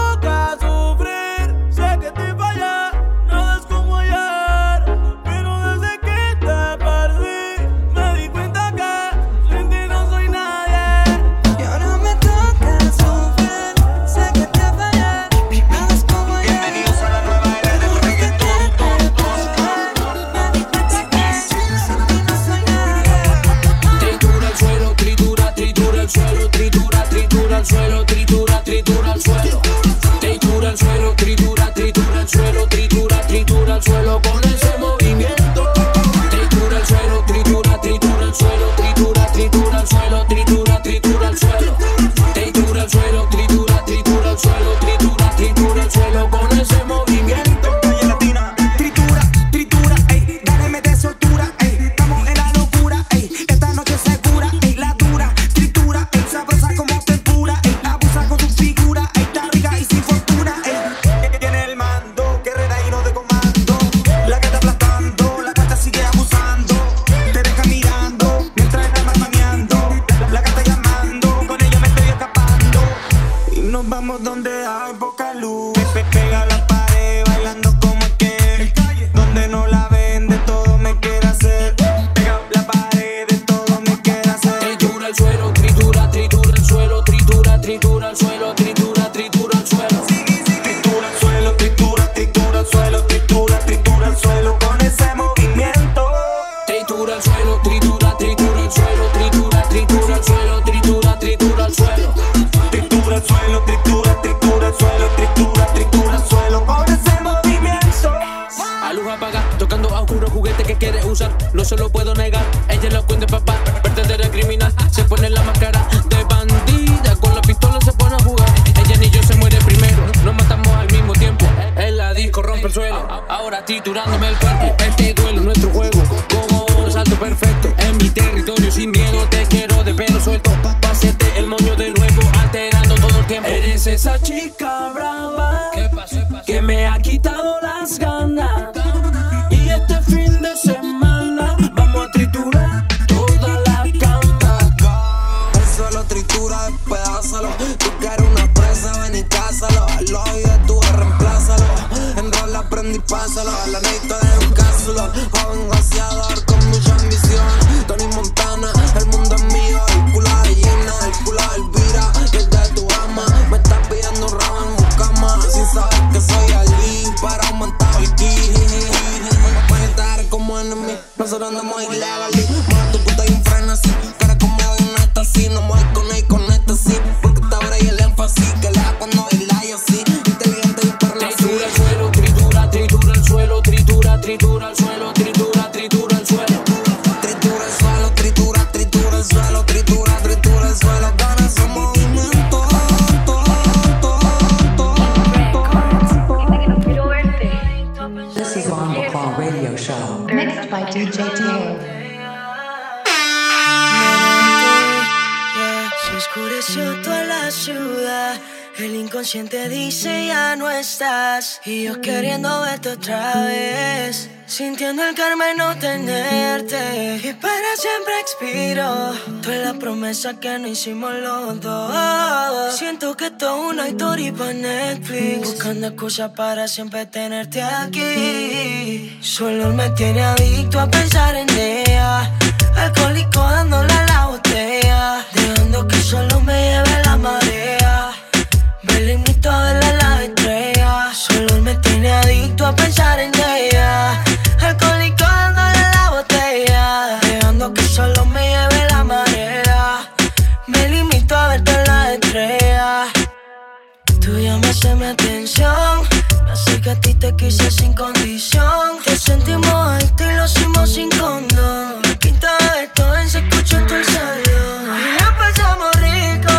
con ese movimiento. Calle Latina, tritura, tritura, ey, dale, mete soltura, ey, estamos en la locura, ey, esta noche segura, ey, la dura, tritura, ey, sabrosa como tempura, ey, abusa con tu figura, ey, está rica y sin fortuna, ey, tiene el mando, guerrera y no de comando, la que está aplastando, la gata sigue abusando, te deja mirando, mientras está marmaneando, la gata llamando, con ella me estoy escapando, y nos vamos donde hay poca luz, Pe- pega la pared bailando como que, donde no la ven de todo me quiere hacer, pega la pared de todo me quiere hacer. Tritura el suelo, tritura, tritura el suelo, tritura, tritura el suelo, tritura, tritura el suelo. Tritura el suelo, tritura, tritura el suelo, tritura, tritura el suelo con ese movimiento. Tritura el suelo, tritura, tritura el suelo, tritura, tritura el suelo, tritura, tritura el suelo. Tritura el suelo, tritura, tritura el suelo, tritura, tritura el suelo con ese movimiento. A luz apaga, tocando a oscuro juguete que quiere usar, no se lo puedo negar. Ella lo cuenta papá, vertedera criminal, se pone la máscara de bandida, con la pistola se pone a jugar. Ella ni yo se muere primero, nos matamos al mismo tiempo. En la disco rompe el suelo, ahora triturándome el cuerpo. Este duelo es nuestro juego, como un salto perfecto. En mi territorio sin miedo, te quiero de pelo suelto. Pa' hacerte el moño de nuevo, alterando todo el tiempo. Eres esa chica brava, ¿qué pasó? Que me ha quitado las ganas. Y este fin de semana vamos a triturar toda la cama. Eso lo tritura, despedázalo. Tú quieres una presa, ven y cásalo. El odio de tu reemplázalo. Enrola, prende y pásalo. A la neta de un cápsulo. Joven goceador con mucha ambición. Tony Montana, el mundo es mío. El culo de Gina, el culo de Elvira. Y el de tu ama. Me estás pidiendo un rabo en mi cama. Sin saber que soy Ali. Para aumentar el ki. Voy a estar como enemy. Nosotros andamos ilegal. Mueve tu puta y un freno así. Cara como de un éxtasis. No me voy con él, con éxtasis. Porque está ahora y el énfasis. Que le da cuando baila y así. Inteligente y perla así. Tritura el suelo, tritura, tritura el suelo, tritura, tritura el suelo, tritura, tritura el suelo. Tritura el suelo, tritura, tritura el suelo, tritura, tritura el suelo. Con ese movimiento. This is Bombo Claw Radio Show. Mixed by D J Taylor. Se oscureció toda la ciudad. El inconsciente dice ya no estás. Y yo queriendo verte otra vez, sintiendo el karma y no tenerte. Y para siempre expiro toda la promesa que no hicimos los dos. Siento que todo una historia para Netflix, buscando excusas para siempre tenerte aquí. Solo me tiene adicto a pensar en ella, alcohólico dándole a la botella, dejando que solo me lleve la marea. Me limito a verla en la estrella. Solo él me tiene adicto a pensar en ella, alcohólico dándole la botella, dejando que solo me lleve la marea. Me limito a verte en la estrella. Tú llamaste mi atención, me hace que a ti te quise sin condición. Te sentimos adictos y lo hicimos sin condón. La quinta vez todo se escuchó en todo el salón. Y la pasamos rico.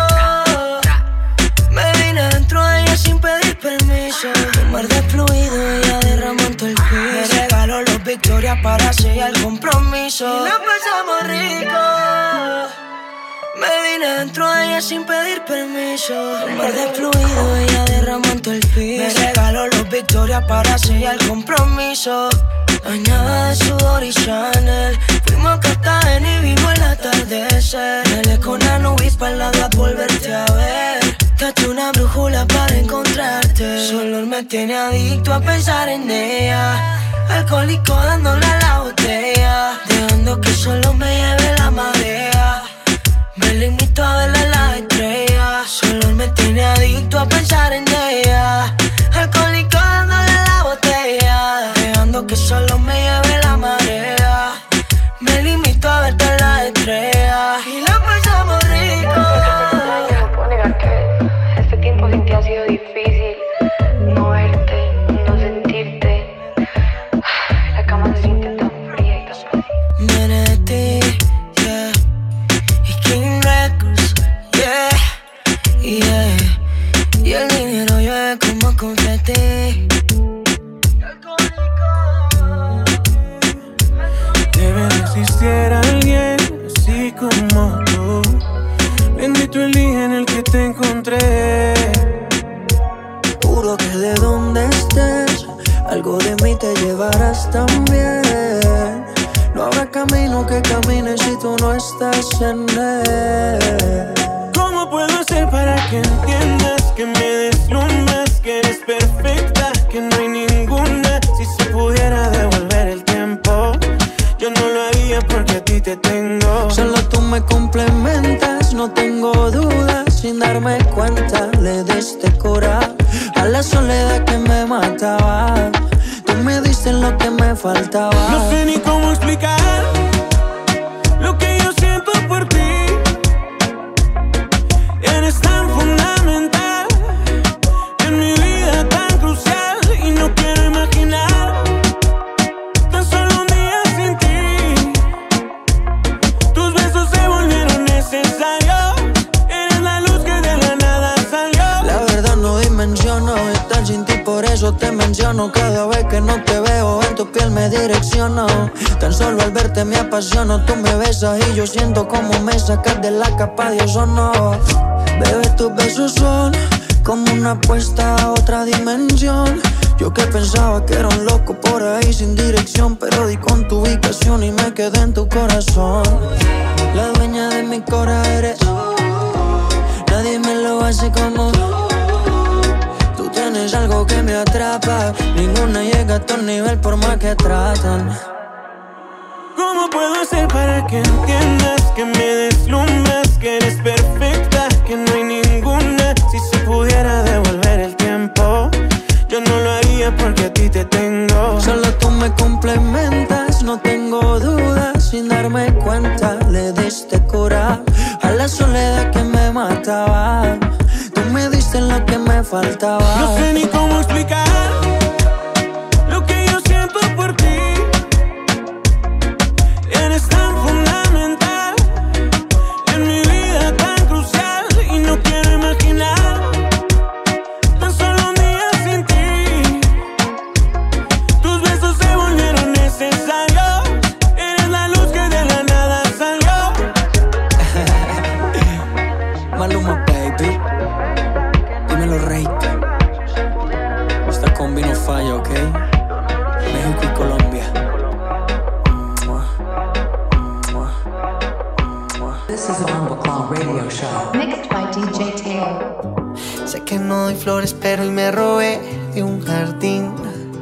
Me vine dentro de ella sin pedir permiso. Un mar de fluido, ella derramó en todo el piso. Me regaló los victorias para sellar el compromiso. Y la pasamos rico. Me vine dentro de ella sin pedir permiso. Un mar de fluido, ella derramó en todo el piso. Me regaló los victorias para sellar el compromiso. Bañada de sudor y Chanel, fuimos a Cartagena y vimos el atardecer. Me con la nube para la de volverte a ver. Date una brújula para encontrarte. Solo él me tiene adicto a pensar en ella, alcohólico dándole a la botella, dejando que solo me lleve la marea. Me limito a verla en la estrella. Solo él me tiene adicto a pensar en ella, alcohólico dándole a la botella, dejando que solo me lleve la marea. Me limito a verte en la estrella. Y la pasamos rico. No puedo negar que este tiempo sin ti ha sido difícil. No verte, no sentirte. La cama se siente tan fría y tan vacía. Viene de ti, yeah. Y King Records, yeah, yeah. Y el dinero llueve como confeti. estás tan bien. No habrá camino que camine si tú no estás en él. ¿Cómo puedo hacer para que entiendas, que me deslumbras, que eres perfecta, que no hay ninguna? Si se pudiera devolver el tiempo, yo no lo haría porque a ti te tengo. Solo tú me complementas, no tengo dudas. Sin darme cuenta le diste cura a la soledad que me mataba. Tú me diste lo que me faltaba. No sé ni cómo explicar lo que yo siento por ti. Eres tan fundamental en mi vida, tan crucial, y no quiero imaginar tan solo un día sin ti. Tus besos se volvieron necesarios. Eres la luz que de la nada salió. La verdad no dimensiono estar sin ti, por eso te menciono. Cada vez que no te veo en tu piel me direcciono. Tan solo al verte me apasiono. Tú me besas y yo siento como me sacas de la capa de ozono. Bebé, tus besos son como una apuesta a otra dimensión. Yo que pensaba que era un loco por ahí sin dirección, pero di con tu ubicación y me quedé en tu corazón. La dueña de mi cora eres. Nadie me lo hace como tú. Tienes algo que me atrapa. Ninguna llega a tu nivel por más que tratan. ¿Cómo puedo hacer para que entiendas, que me deslumbras, que eres perfecta, que no hay ninguna? Si se pudiera devolver el tiempo, yo no lo haría porque a ti te tengo. Solo tú me complementas, no tengo dudas. Sin darme cuenta le diste cura a la soledad que me mataba. Tú me diste lo que me faltaba. No sé ni cómo explicar lo que yo siento por ti. Eres tan fundamental en mi vida, tan crucial, y no quiero imaginar tan solo un día sin ti. Tus besos se volvieron necesarios. Eres la luz que de la nada salió. Maluma, baby. Dímelo, Rey. Esta combi no falla, ¿ok? México y Colombia. This is a Bombo Cloud radio show. Mixed by D J Taylor. Sé que no doy flores, pero hoy me robé de un jardín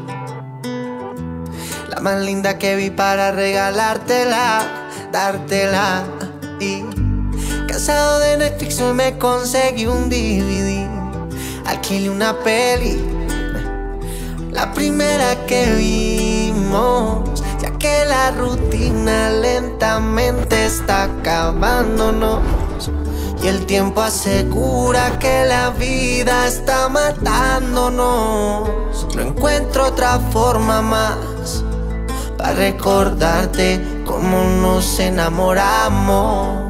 la más linda que vi para regalártela, dártela. Y cansado de Netflix hoy me conseguí un D V D. Alquilé una peli, la primera que vimos, ya que la rutina lentamente está acabándonos. Y el tiempo asegura que la vida está matándonos. No encuentro otra forma más para recordarte cómo nos enamoramos.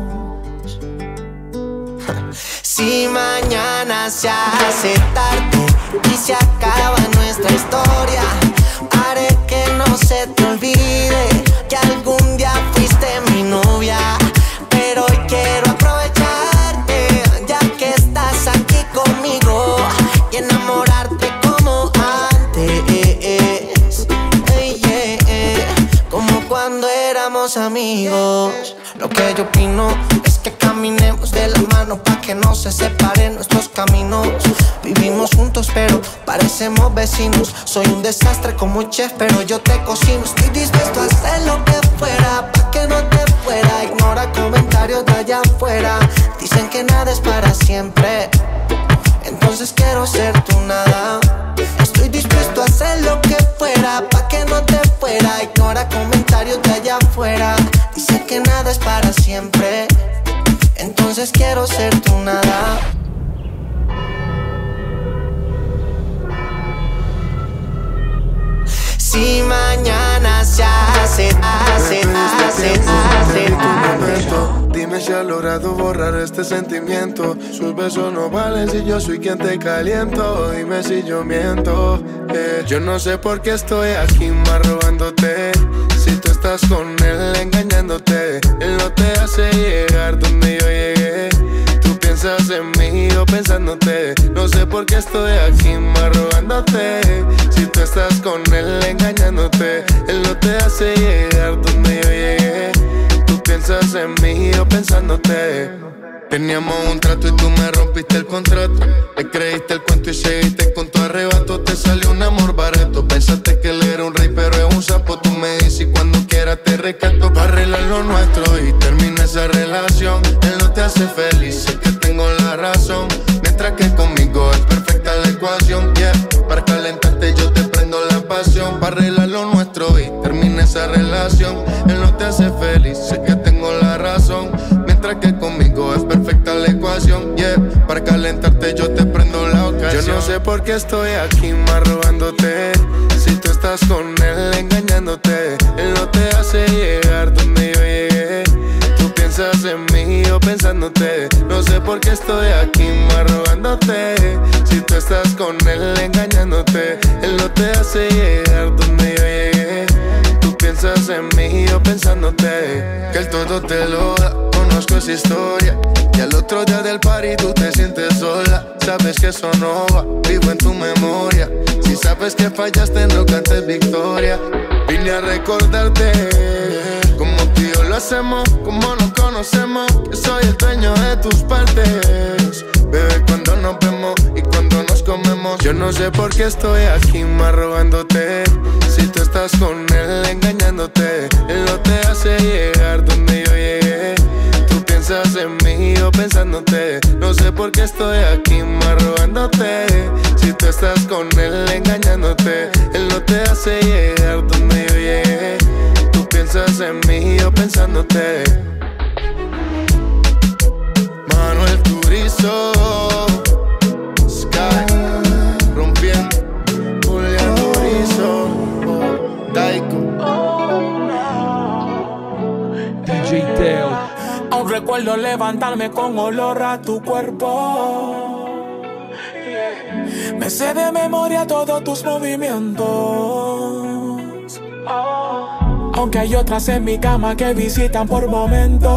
Si mañana se hace tarde y se acaba nuestra historia, haré que no se te olvide que algún día fuiste mi novia. Pero hoy quiero aprovecharte, ya que estás aquí conmigo, y enamorarte como antes, hey, yeah, yeah. Como cuando éramos amigos. Lo que yo opino es que caminemos de la mano pa' que no se separen nuestros caminos. Vivimos juntos pero parecemos vecinos. Soy un desastre como chef pero yo te cocino. Estoy dispuesto a hacer lo que fuera pa' que no te fuera. Ignora comentarios de allá afuera. Dicen que nada es para siempre, entonces quiero ser tu nada. Estoy dispuesto a hacer lo que fuera pa' que no te fuera. Ignora comentarios de allá afuera. Dicen que nada es para siempre, entonces quiero ser tu nada. Si mañana se hace, hace, hace, hace, hace. Dime si has logrado borrar este sentimiento. Sus besos no valen si yo soy quien te caliento. Dime si yo miento, eh. Yo no sé por qué estoy aquí más robándote. Si tú estás con él engañándote, él no te hace llegar donde yo llegué. Tú piensas en mí yo pensándote. No sé por qué estoy aquí más rogándote. Si tú estás con él engañándote, él no te hace llegar donde yo llegué. Tú piensas en mí, yo pensándote. Teníamos un trato y tú me rompiste el contrato. Le creíste el cuento y seguiste con tu arrebato. Te salió un amor barato. Pensaste que él era un rey pero es un sapo. Tú me dices y cuando quieras te rescato. Para arreglar lo nuestro y termina esa relación. Él no te hace feliz, sé que tengo la razón. Mientras que conmigo es perfecta la ecuación, yeah. Para calentarte yo te prendo la pasión. Para arreglar lo nuestro y termina esa relación. Él no te hace feliz, sé que tengo la razón. Mientras que conmigo es perfecta la ecuación, yeah. Para calentarte yo te prendo la ocasión. Yo no sé por qué estoy aquí más robándote. Si tú estás con él engañándote, él no te hace llegar donde yo llegué. Tú piensas en mí, yo pensándote. No sé por qué estoy aquí más robándote. Si tú estás con él engañándote, él no te hace llegar donde yo llegué. Tú piensas en mí, yo pensándote. Que él todo te lo da. Conozco esa historia y al otro día del party tú te sientes sola. Sabes que eso no va, vivo en tu memoria. Si sabes que fallaste no cantes victoria. Vine a recordarte como tú y yo lo hacemos, como nos conocemos. Que soy el dueño de tus partes, bebé, cuando nos vemos y cuando nos comemos. Yo no sé por qué estoy aquí más rogándote. Si tú estás con él engañándote, él no te hace llegar donde yo llegué. Piensas en mí, yo pensándote. No sé por qué estoy aquí más rogándote. Si tú estás con él engañándote, él no te hace llegar donde yo llegué. Tú piensas en mí, yo pensándote. Manuel Turizo, Sky, rompiendo, Julián Turizo, Daiko, D J Teo. Aún recuerdo levantarme con olor a tu cuerpo. Me sé de memoria todos tus movimientos. Aunque hay otras en mi cama que visitan por momentos,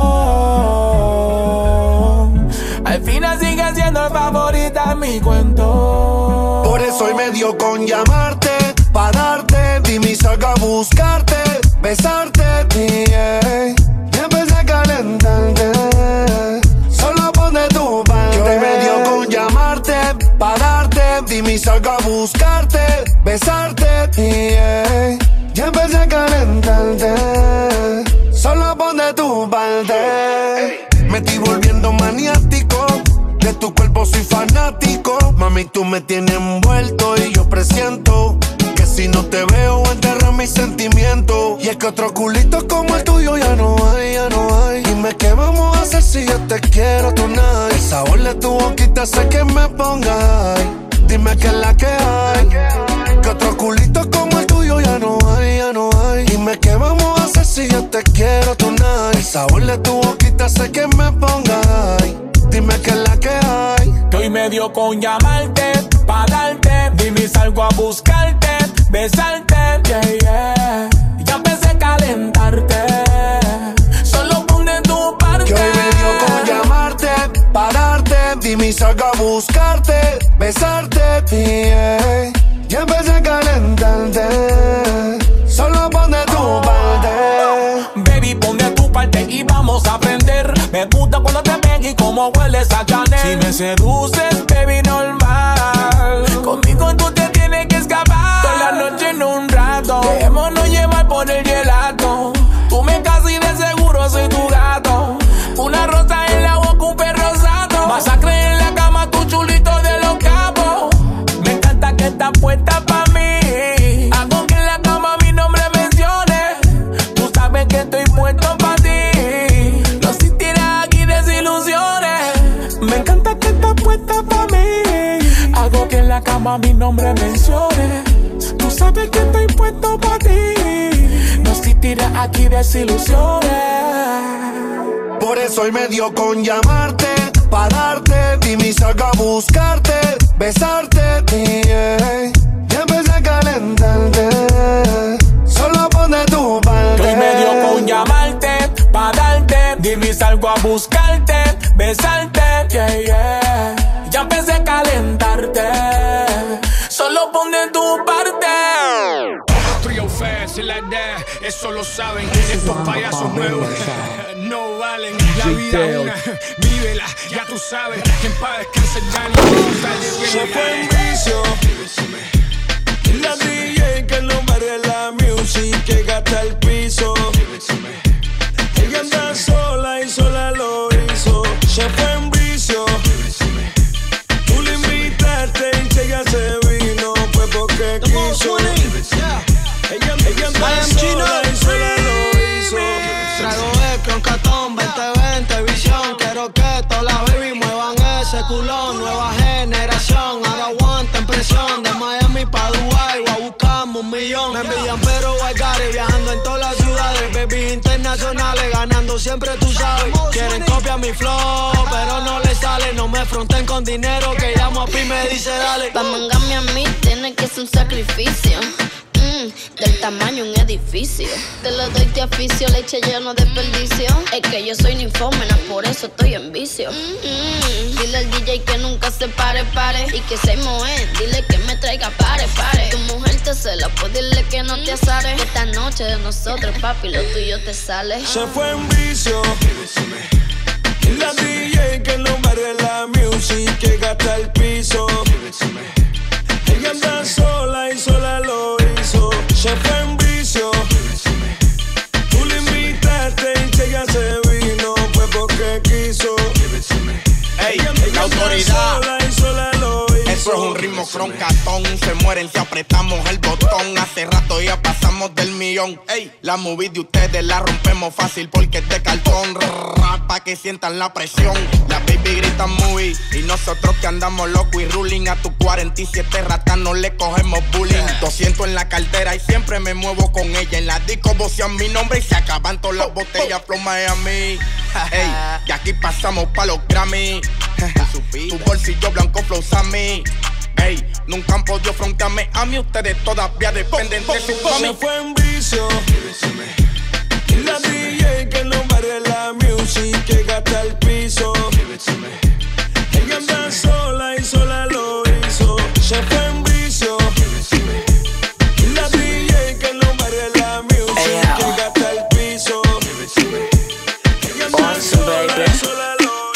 al final sigue siendo favorita en mi cuento. Por eso hoy me dio con llamarte, pa' darte, dime y salga a buscarte, besarte, yeah. Calentarte, solo pon de tu parte. Que hoy me dio con llamarte, pa' darte, dime y salga a buscarte, besarte, yeah. Ya empecé a calentarte, solo pon de tu parte. Me estoy volviendo maniático, de tu cuerpo soy fanático. Mami, tú me tienes envuelto y yo presiento que si no te veo enterras mis sentimientos. Y es que otro culito como el tuyo ya no hay, ya no hay. Dime qué vamos a hacer si yo te quiero tonight. El sabor de tu boquita hace que me ponga ay. Dime qué es la que hay. Que otro culito como el tuyo ya no hay, ya no hay. Dime qué vamos a hacer si yo te quiero tonight. El sabor de tu boquita hace que me ponga ay. Dime qué es la que hay. Que hoy me dio con llamarte, pa' darte, dime y salgo a buscarte, besarte, yeah, yeah. Ya empecé a calentarte, solo pon de tu parte. Que hoy me dio con llamarte, pa' darte, dime y salgo a buscarte, besarte, yeah. Ya empecé a calentarte, solo pon de tu parte. Baby, pon de tu parte y vamos a aprender. Me gusta cuando te ven y cómo hueles a Chanel. Si me seduces, baby, normal. Conmigo tú te tienes que escapar. Toda la noche en un rato, dejémonos llevar por el gelato. Tú me casas y de seguro soy tu gato. Una rosa en la boca, un perro rosado. Masacre en la cama, tu chulito de los cabos. Me encanta que estás puesta pa' mí. Hago que en la cama mi nombre mencione. Tú sabes que estoy puesto pa' ti. No sentirás aquí desilusiones. Me encanta que estás puesta pa' mí. Hago que en la cama mi nombre mencione. Tú sabes que estoy puesto pa' ti. No sentirás aquí desilusiones. Por eso hoy me dio con llamarte, pa' darte, dime y salgo a buscarte, besarte, yeah. Ya empecé a calentarte, solo pon de tu parte. Que hoy me dio con llamarte, pa' darte, dime y salgo a buscarte, besarte, yeah, yeah. Ya verdad, eso lo saben. Estos payasos nuevos no valen. La vida es una, vívela, ya tú sabes. Que en paz descanse el Dani. Se fue en vicio. La D J que no barre la music, que gasta el piso. Ella anda sola y sola lo hizo. Se fue en vicio. Tú le invitaste y que ella se vino, fue porque quiso. Ella, ella anda sola y sola lo hizo. Trago de con catón, veinte veinte visión. Quiero que todas las baby muevan ese culón. Nueva generación, ahora aguanten presión. De Miami pa' Dubai, voy a buscarme un millón. Me envidian pero I got it, viajando en todas las ciudades. Baby internacionales, ganando siempre tú sabes. Quieren copiar mi flow, pero no les sale. No me fronten con dinero, que llamo a Pi y me dice dale. Pa' mangarme a mí tiene que ser un sacrificio. Del tamaño un edificio. Te lo doy de oficio, leche lleno de desperdicio. Es que yo soy ninfómena, por eso estoy en vicio. Mm-hmm. Dile al D J que nunca se pare, pare. Y que se moe, dile que me traiga pare, pare. Tu mujer te cela, pues dile que no te azares. Esta noche de nosotros, papi, lo tuyo te sale. Se fue en vicio. La D J que no barre la music, que gasta el piso. Ella anda sola y sola lo hizo. Se fue en vicio. Tú le invitaste y que ella se vino, fue porque quiso. Ey, ella la autoridad. Sola y sola lo hizo. Eso es un ritmo croncatón. Se mueren si apretamos el botón. Hace rato ya pasamos del millón. Ey, la movie de ustedes la rompemos fácil porque es de cartón. Rap pa' que sientan la presión. La baby grita movie y nosotros que andamos loco y ruling. A tu cuarenta y siete ratas no le cogemos bullying. doscientos en la cartera y siempre me muevo con ella. En la disco vocean mi nombre y se acaban todas las botellas Flow Miami. Ey, y aquí pasamos pa' los Grammy. Tu bolsillo blanco Flow Sammy. Ey, nunca han podido frontearme a mí. Ustedes todavía dependen de su mami. Se fue en vicio. La D J que no barre la music, que gasta el piso. Ella anda sola y sola lo hizo. Se fue en vicio. La D J que no barre la music, que gasta el piso. Ella anda sola y sola lo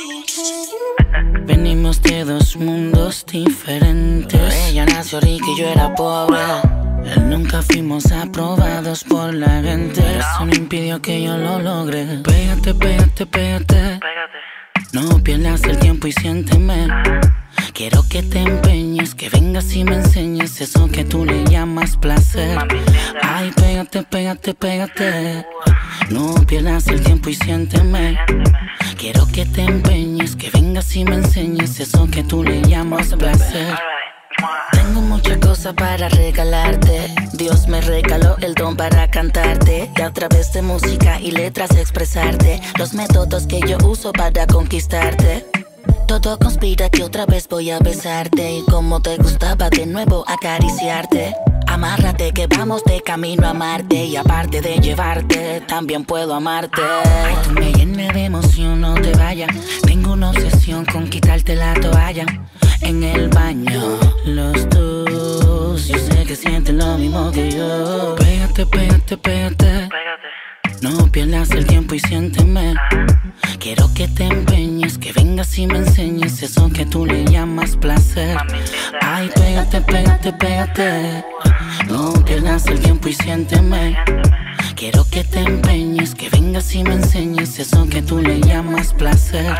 hizo. Venimos de dos mundos diferentes. Ella nació rica y yo era pobre. Él nunca fuimos aprobados por la gente. Eso no impidió que yo lo logre. Pégate, pégate, pégate. No pierdas el tiempo y siénteme. Quiero que te empeñes, que vengas y me enseñes eso que tú le llamas placer. Ay, pégate, pégate, pégate. No pierdas el tiempo y siénteme. Quiero que te empeñes, que vengas y me enseñes eso que tú le llamas placer. Tengo muchas cosas para regalarte. Dios me regaló el don para cantarte y a través de música y letras expresarte los métodos que yo uso para conquistarte. Todo conspira que otra vez voy a besarte y como te gustaba de nuevo acariciarte. Amárrate que vamos de camino a amarte y aparte de llevarte, también puedo amarte. Ay, tú me llenas de emoción, no te vayas. Tengo una obsesión con quitarte la toalla. En el baño, los dos, yo sé que sienten lo mismo que yo. Pégate, pégate, pégate. No pierdas el tiempo y siénteme. Quiero que te empeñes, que vengas y me enseñes eso que tú le llamas placer. Ay, pégate, pégate, pégate. No pierdas el tiempo y siénteme. Quiero que te empeñes, que vengas y me enseñes eso que tú le llamas placer.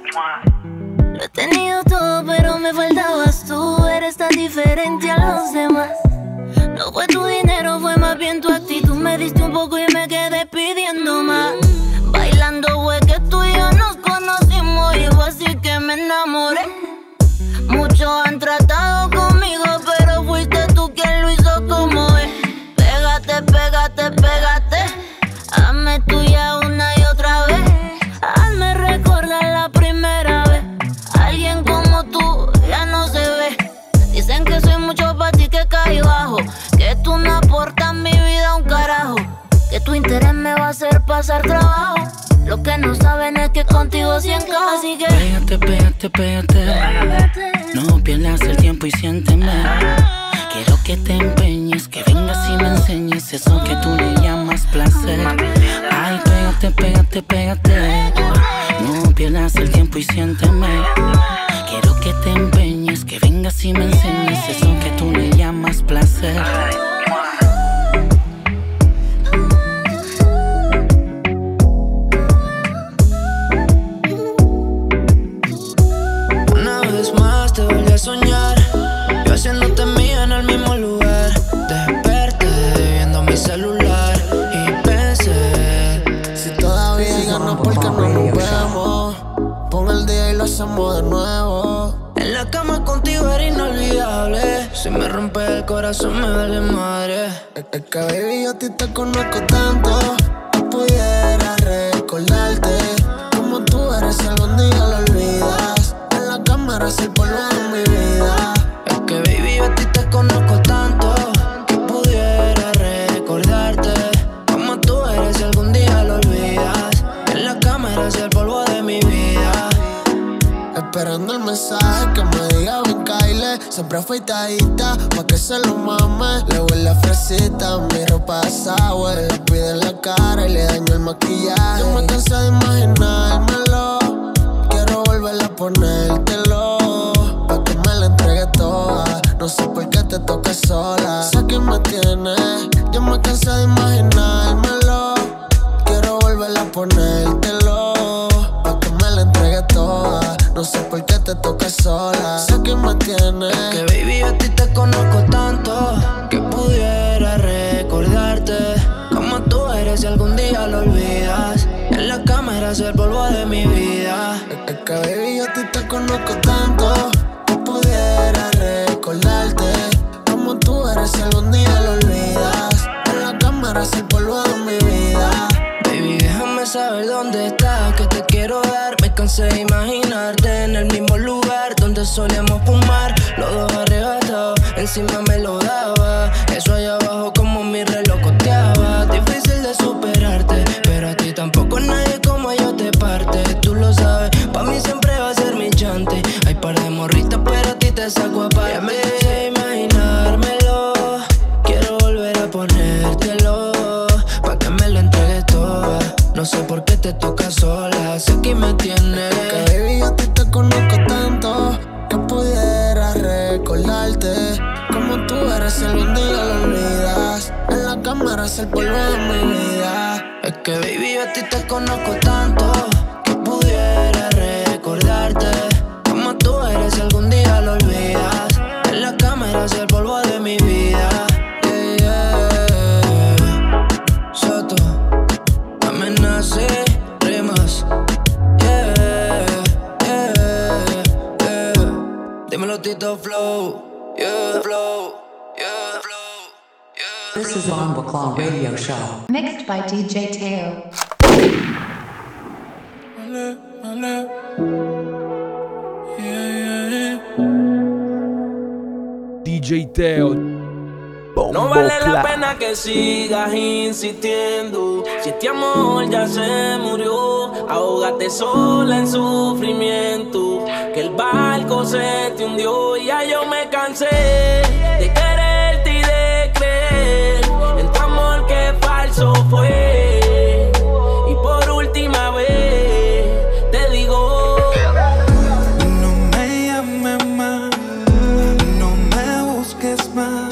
Lo he tenido todo, pero me faltabas tú. Eres tan diferente a los demás. No fue tu dinero, fue más bien tu actitud. Me diste un poco y me quedé pidiendo más. Bailando fue que tú y yo nos conocimos y fue así que me enamoré. Muchos han tratado conmigo, pero fuiste tú quien lo hizo como es. Pégate, pégate, pégate. Hazme tuya una y otra vez. Hazme recordar la primera vez. Alguien como tú ya no se ve. Dicen que soy mucho para ti, que caí bajo. Que tú no aportas mi vida un carajo. Que tu interés me va a hacer pasar trabajo. Lo que no saben es que contigo sí encajo. Así que pégate, pégate, pégate. No pierdas el tiempo y siénteme. Quiero que te empeñes, que vengas y me enseñes eso que tú le llamas placer. Ay, pégate, pégate, pégate. No pierdas el tiempo y siénteme. Quiero que te empeñes, que vengas y me enseñes eso que tú le llamas placer. Una vez más te volví a soñar, yo haciéndote mía en el mismo lugar. Desperté viendo mi celular y pensé, si todavía hay ganas, ¿por qué no nos vemos? Pon el día y lo hacemos de nuevo. En la cama contigo era inolvidable. Si me rompe el corazón me vale madre. Es que baby yo a ti te conozco tanto que pudiera recordarte como tú eres, algún día lo olvidas. En la cámara es el polvo de mi vida. Es que baby yo a ti te conozco tanto que pudiera recordarte como tú eres, si algún día lo olvidas. En la cámara es el polvo de mi vida. Esperando el mensaje que me diga ven Kyle. Siempre afeitadita pa' que se lo mame. Le huele a fresita, mi ropa es sour. Le pide en la cara y le daño el maquillaje. Yo me cansé de imaginármelo. Quiero volver a ponértelo pa' que me la entregue toda. No sé por qué te toca sola. Sé que me tienes. Yo me cansé de imaginármelo. Quiero volver a ponértelo pa' que me la entregue toda. No sé por qué te toca sola. Sé que me tienes. Es que baby yo a ti te conozco tanto que pudiera recordarte como tú eres, si algún día lo olvidas. En la cámara es el polvo de mi vida. Es que baby yo a ti te conozco tanto que pudiera recordarte como tú eres, si algún día lo olvidas. En la cámara es el polvo de mi vida. Baby, déjame saber dónde estás, que te quiero dar. Me cansé de imaginarte en el mismo lugar donde solíamos fumar, los dos arrebatados, encima me lo daba. Eso allá abajo como mi reloj coteaba. Difícil de superarte, pero a ti tampoco nadie como yo te parte. Tú lo sabes, pa' mí siempre va a ser mi chante. Hay par de morritas, pero a ti te saco aparte. Ya me cansé de imaginármelo, quiero volver a ponértelo pa' que me lo entregues toda. No sé por qué te toca sola, sé que me tienes. Que baby yo a ti te conozco tanto que pudiera recordarte como tú eres, si algún día lo olvidas. En la cámara es el polvo de mi vida. Es que baby yo a ti te conozco tanto que pudiera recordarte como tú eres, si algún día lo olvidas. En la cámara es el polvo de mi vida. Yeah, yeah. Soto, amenace, rimas. Yeah, yeah, yeah. Dímelo Tito Flow. Yeah, flow. Yeah, flow. Yeah. This is Bomba Claw Radio Show. Mixed by D J Teo. Ale, ale. Yeah, yeah. D J Teo. No vale la pena que sigas insistiendo. Si este amor ya se murió, ahógate sola en sufrimiento. Que el barco se te hundió. Ya yo me cansé de quererte y de creer en tu amor que falso fue. Y por última vez te digo, no me llames más, no me busques más.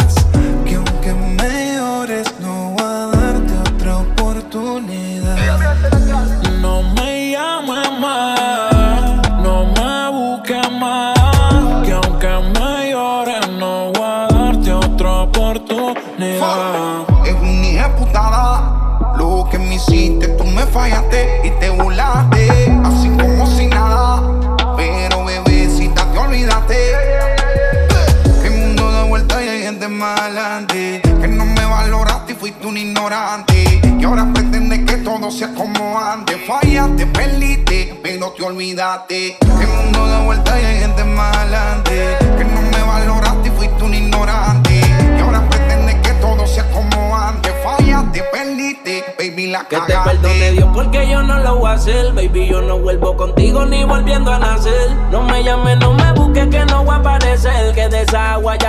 No me llames más, no me busques más, que aunque me llores no voy a darte otra oportunidad. Es una hija putada, lo que me hiciste, tú me fallaste y te burlaste, así como si nada, pero bebecita te olvidaste. Que el mundo da vuelta y hay gente más adelante, que no me valoraste y fuiste un ignorante. Y ahora pretendes que todo sea como antes. Fallaste, perdiste, pero te olvidaste. El mundo da vuelta y hay gente más adelante, que no me valoraste y fuiste un ignorante. Y ahora pretendes que todo sea como antes. Fallaste, perdiste, baby, la que cagaste. te perdone Dios porque yo no lo voy a hacer. Baby, yo no vuelvo contigo ni volviendo a nacer. No me llames, no me busques que no voy a aparecer. Que de esa agua ya no bebo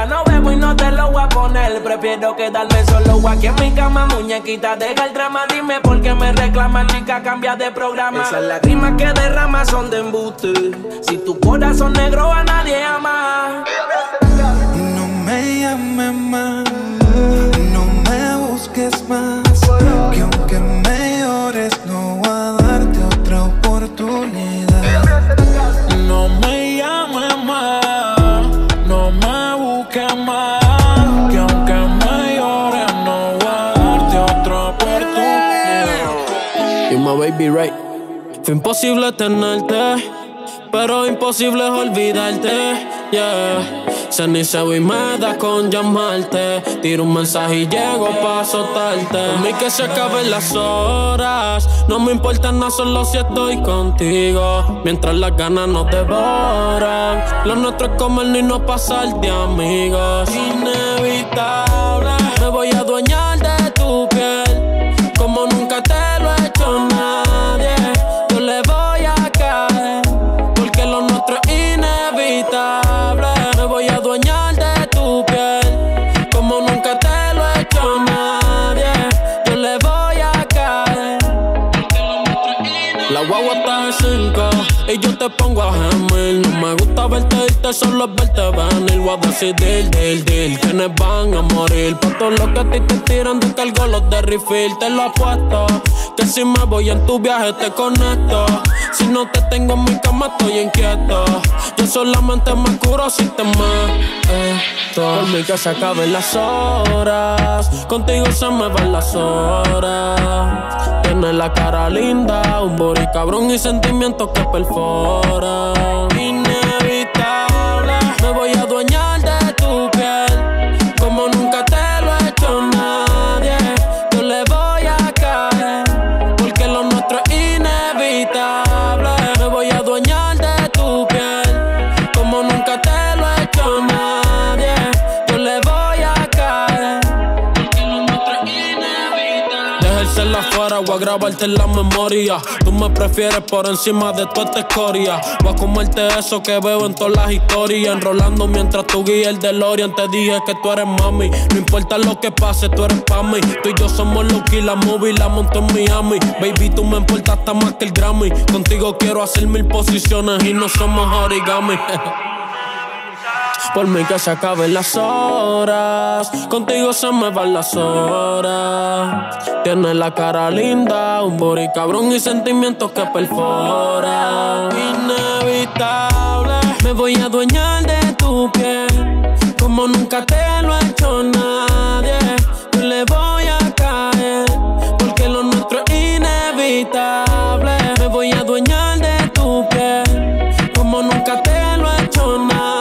y no te lo voy a poner. Prefiero quedarme solo aquí en mi cama, muñequita, deja el drama. Dime por qué me reclamas, chica, cambia de programa. Esas lágrimas que derramas son de embuste. Si tu corazón negro a nadie ama. No me llames más, no me busques más, que aunque me llores no voy a darte otra oportunidad. No me llames más, no me busques más, que aunque me llores no voy a darte otra oportunidad. You my baby right. Fue imposible tenerte, pero imposible es olvidarte, yeah. Ceniza y me da con llamarte. Tiro un mensaje y llego pa' azotarte. Por mí que se acaben las horas, no me importa nada, solo si estoy contigo. Mientras las ganas nos devoran, lo nuestro es comernos y no pasar de amigos. Inevitable, me voy a adueñar de tu piel como nunca te lo he hecho nadie. Yo le voy a caer porque lo nuestro es inevitable. Me voy a adueñar de tu piel como nunca te lo he hecho nadie. Yo le voy a caer porque lo nuestro es inevitable. La guagua está de cinco y yo te pongo a gemir. No me gusta verte irte, solo es verte venir. Voy a decidir, deal, deal, quienes van a morir. Por todo lo que a ti te tiran, descargo los de refill. Te lo apuesto, que si me voy en tu viaje te conecto. Si no te tengo en mi cama estoy inquieto. Yo solamente me curo si te meto. Por mí que se acaben las horas, contigo se me van las horas. Tienes la cara linda, un body cabrón y sentimientos que perforan. Inevitable, me voy a adueñar de tu piel como nunca te lo he hecho nadie. Yo le voy a caer porque lo nuestro es inevitable. Me voy a adueñar de tu piel como nunca te lo he hecho nadie. Yo le voy a caer porque lo nuestro es inevitable. Dejárselas afuera, voy a grabarte en la memoria. Tú me prefieres por encima de toda esta escoria. Voy a comerte eso que veo en todas las historias. Enrolando mientras tú guías el DeLorean. Te dije que tú eres mami, no importa lo que pase, tú eres pa' mí. Tú y yo somos Lucky, la movie la monto en Miami. Baby, tú me importas hasta más que el Grammy. Contigo quiero hacer mil posiciones y no somos origami. Por mí que se acaben las horas, contigo se me van las horas. Tienes la cara linda, un body cabrón y sentimientos que perforan. Inevitable, me voy a adueñar de tu piel como nunca te lo ha hecho nadie. Yo le voy a caer porque lo nuestro es inevitable. Me voy a adueñar de tu piel como nunca te lo ha hecho nadie.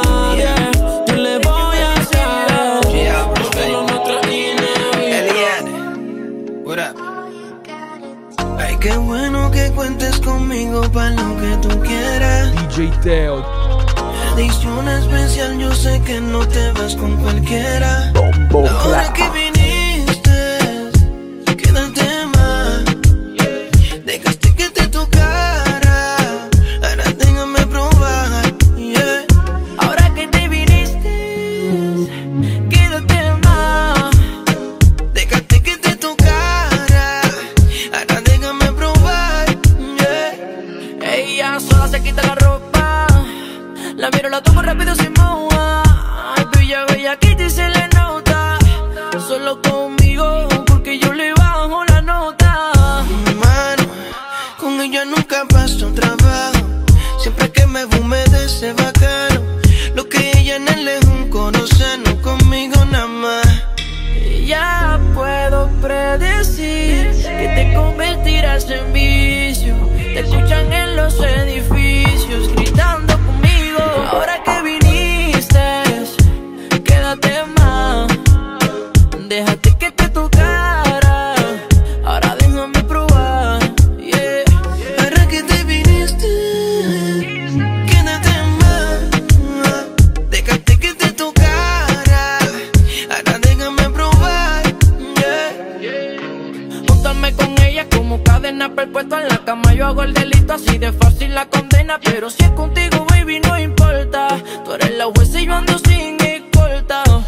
Qué bueno que cuentes conmigo para lo que tú quieras. D J Teo. Edición especial, yo sé que no te vas con cualquiera. Bombo La hora que viniste, quédate más. Dejaste que te tocara, ahora déjame probar. Yeah. Ahora que te viniste, quédate más. Dejaste que te tocara, ahora déjame probar. Yeah. Ella sola se quita la ropa, la miro, la tomo rápido sin moja. Ay, bella, bella, aquí te se le nota. Solo conmigo, porque yo le bajo la nota. Mano, con ella nunca paso trabajo. Siempre que me humedece bacano. Lo que ella en él es un corozano, conmigo nada más. Ya puedo predecir que te convertirás en vicio. Te escuchan en los edificios gritando conmigo. Ahora que viniste, quédate más. Déjate que te tocara, ahora déjame probar. Yeah. Ahora que te viniste, quédate más. Déjate que te tocara, ahora déjame probar. Yeah. Juntarme con ella como cadena perpetua en la cama. Yo hago el delito, así de fácil la condena. Pero si es contigo, baby, no importa. Tú eres la jueza y yo ando sin escolta. De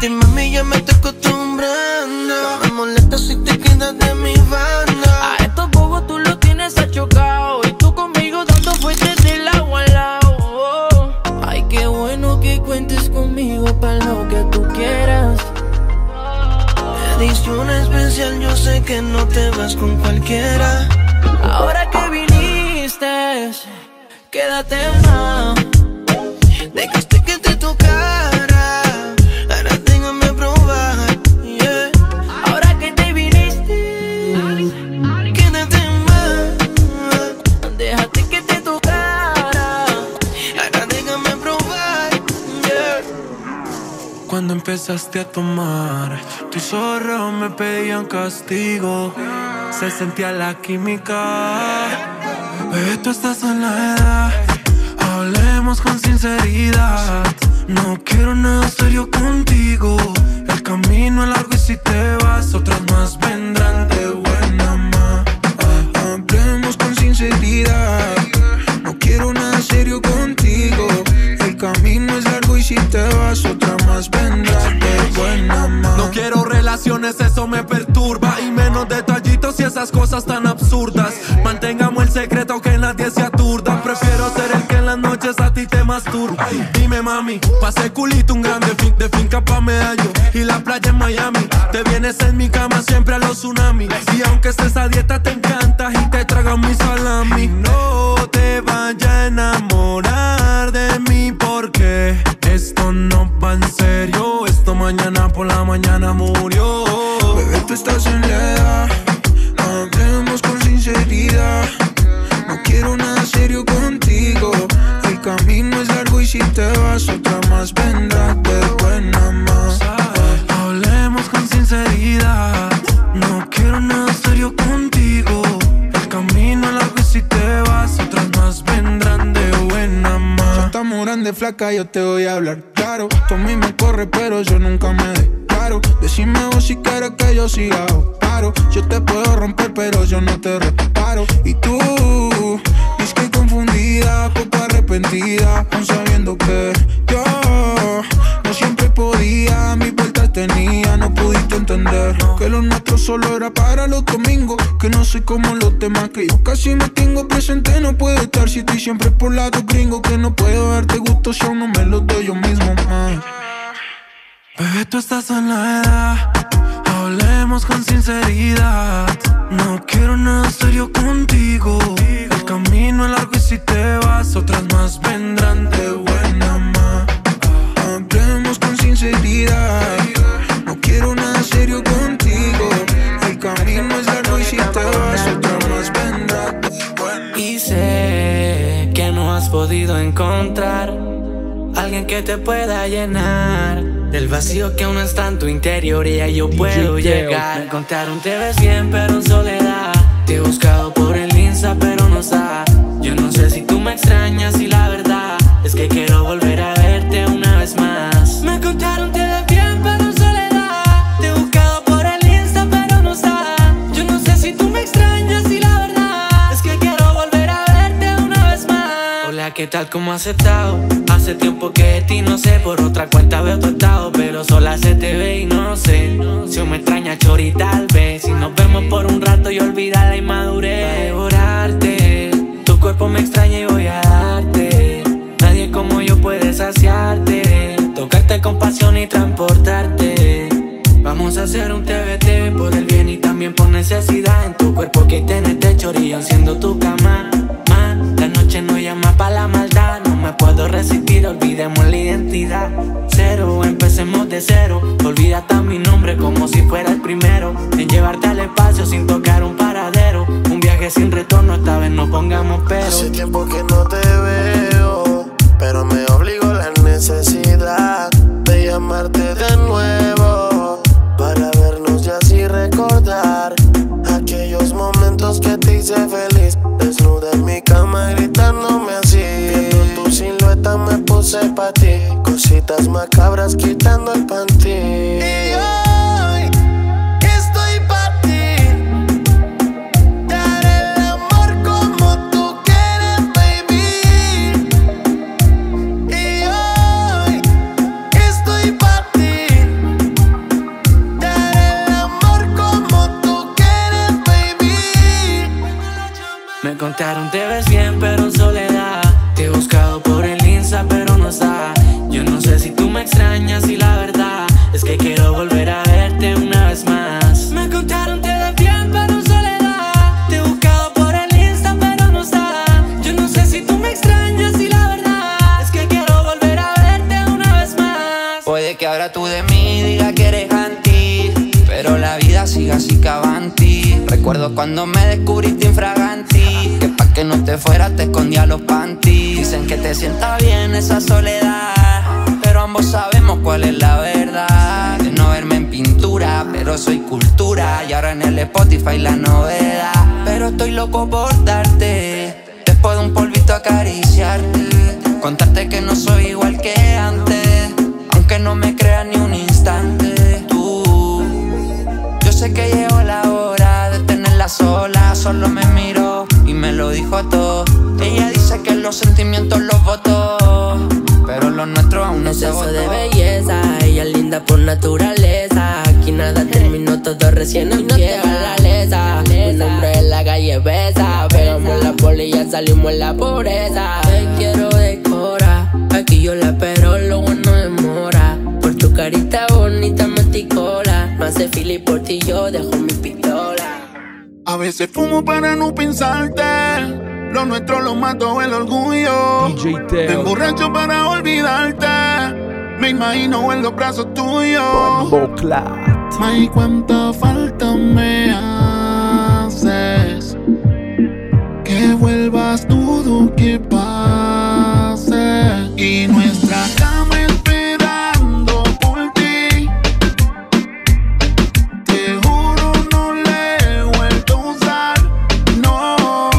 ti, mami, ya me estoy acostumbrando. No me molesta si te quedas de mi banda. A estos bobos tú los tienes achocado y tú conmigo dando fuertes del agua al lado. Oh. Ay, qué bueno que cuentes conmigo para lo que tú quieras. Edición especial, yo sé que no te vas con cualquiera. Ahora que viniste, quédate más. Dejaste que te tocara, ahora déjame probar, yeah. Ahora que te viniste, quédate más. Dejaste que te tocara, ahora déjame probar, yeah. Cuando empezaste a tomar, tus ojos me pedían castigo. Se sentía la química. Bebé, tú estás en la edad. Hablemos con sinceridad. No quiero nada serio contigo. El camino es largo y si te vas, otras más vendrán de buena ma. Hablemos con sinceridad. No quiero nada serio contigo. El camino es largo y si te vas, otras más vendrán de buena ma. No quiero relaciones, eso me perturba. Y menos detallitos y esas cosas tan absurdas. Mantengamos el secreto, que nadie se aturda. Prefiero ser el que en las noches a ti te masturba. Dime mami, pasé culito un grande fin, de finca pa' Medallo y la playa en Miami. Te vienes en mi cama siempre a los tsunamis. Y aunque estés a dieta te encantas y te tragas mi salami. No te vayas a enamorar de mí porque esto no va en serio. Esto mañana por la mañana murió. Bebé, tú estás en la edad. Hablemos con sinceridad. No quiero nada serio contigo. El camino es largo y si te vas, otra más vendrá de buena más. Hablemos con sinceridad. No quiero nada serio contigo. El camino es largo y si te vas, otras más vendrán de buena más. Ya estamos grande, flaca, yo te voy a hablar claro. Tú a mí me corre, pero yo nunca me declaro. Decime vos si quieres que yo siga o paro. Yo te puedo romper, pero yo no te reparo. Y tú, es que confundida, poco arrepentida, aún sabiendo que yo no siempre podía, mis vueltas tenía. No pudiste entender que lo nuestro solo era para los domingos. Que no soy como los demás, que yo casi me tengo presente. No puedo estar si estoy siempre por lado gringo. Que no puedo darte gusto si aún no me lo doy yo mismo más. Bebé, tú estás en la edad. Hablemos con sinceridad. No quiero nada serio contigo. El camino es largo y si te vas, otras más vendrán de buena ma. Hablemos con sinceridad. No quiero nada serio contigo. El camino es largo y si te vas, otras más vendrán de buena ma. Y sé que no has podido encontrar alguien que te pueda llenar del vacío que aún está en tu interior y ahí yo puedo llegar. Me contaron te ves bien pero en soledad. Te he buscado por el Insta pero no está. Yo no sé si tú me extrañas y la verdad es que quiero volver a verte una vez más. Me contaron te ves bien pero en soledad. Te he buscado por el Insta pero no está. Yo no sé si tú me extrañas y la verdad es que quiero volver a verte una vez más. Hola, ¿qué tal? ¿Cómo has estado? Hace tiempo que de ti no sé, por otra cuenta veo tu estado, pero sola se te ve y no sé si me extraña chori tal vez. Si nos vemos por un rato y olvida la inmadurez. Va a devorarte, tu cuerpo me extraña y voy a darte. Nadie como yo puede saciarte, tocarte con pasión y transportarte. Vamos a hacer un T V T por el bien y también por necesidad. En tu cuerpo que tienes de chorilla siendo tu cama. La noche no llama pa' la maldad. No me puedo resistir, olvidemos la identidad. Cero, empecemos de cero. Olvida hasta mi nombre como si fuera el primero. En llevarte al espacio sin tocar un paradero. Un viaje sin retorno, esta vez no pongamos pero. Hace tiempo que no te veo, pero me obligó la necesidad de llamarte de nuevo, para vernos y así recordar aquellos momentos que te hice feliz. Desnuda en mi cama gritándome así. Viendo tu silueta me puse pa' ti. Cositas macabras quitando el panty. Y hoy estoy pa' ti. Daré el amor como tú quieres, baby. Y hoy estoy pa' ti. diga que eres anti, pero la vida sigue así que avanti. Recuerdo cuando me descubriste infraganti, que pa' que no te fueras te escondía los panties. Dicen que te sienta bien esa soledad, pero ambos sabemos cuál es la verdad. De no verme en pintura, pero soy cultura, y ahora en el Spotify la novedad. Pero estoy loco por darte, después de un polvito acariciarte, contarte que no soy igual que antes, aunque no me creas ni un instante. Tú, yo sé que llegó la hora de tenerla sola, solo me miró y me lo dijo todo. Ella dice que los sentimientos los votó, pero lo nuestro aún no se votó. De belleza, ella es linda por naturaleza. Aquí nada terminó, todo recién empieza. La lesa, un hombre en la calle besa. Pegamos la poli y ya salimos en la pobreza. Te quiero decorar, aquí yo la espero, lo bueno demora. Por tu carita bonita me ticola, no hace fila y por ti yo dejo mi pistola. A veces fumo para no pensarte, lo nuestro lo mató el orgullo. D J Teo. Me emborracho para olvidarte, me imagino en los brazos tuyos. Ay, cuánta falta me haces, que vuelvas todo que pase. Y nuestra cama esperando por ti, te juro no le he vuelto a usar, no.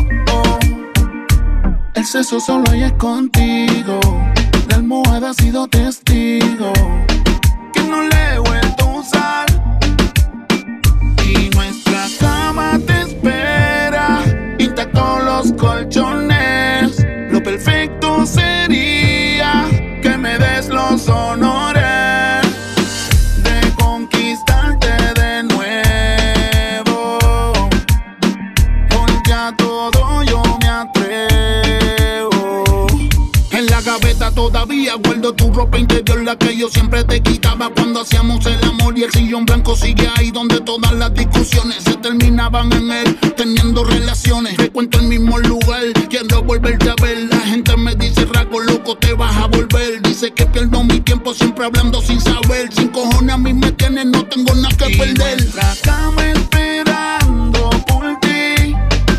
El sexo solo hay es contigo, la almohada ha sido testigo, que no le he vuelto a usar. Y nuestra cama te espera, intactos los colchones. Lo perfecto sería que me des los honores de conquistarte de nuevo, porque a todo yo me atrevo. En la gaveta todavía guardo tu ropa interior, la que yo siempre te quitaba cuando hacíamos el amor. Y el sillón blanco sigue ahí donde todas las discusiones se terminaban en él, teniendo relaciones. Recuento el mismo lugar, quiero volverte a ver. La gente me dice, Raco, loco, te vas a volver. Dice que pierdo mi tiempo siempre hablando sin saber. Sin cojones a mí me tienes, no tengo nada que y perder. Nuestra cama esperando por ti,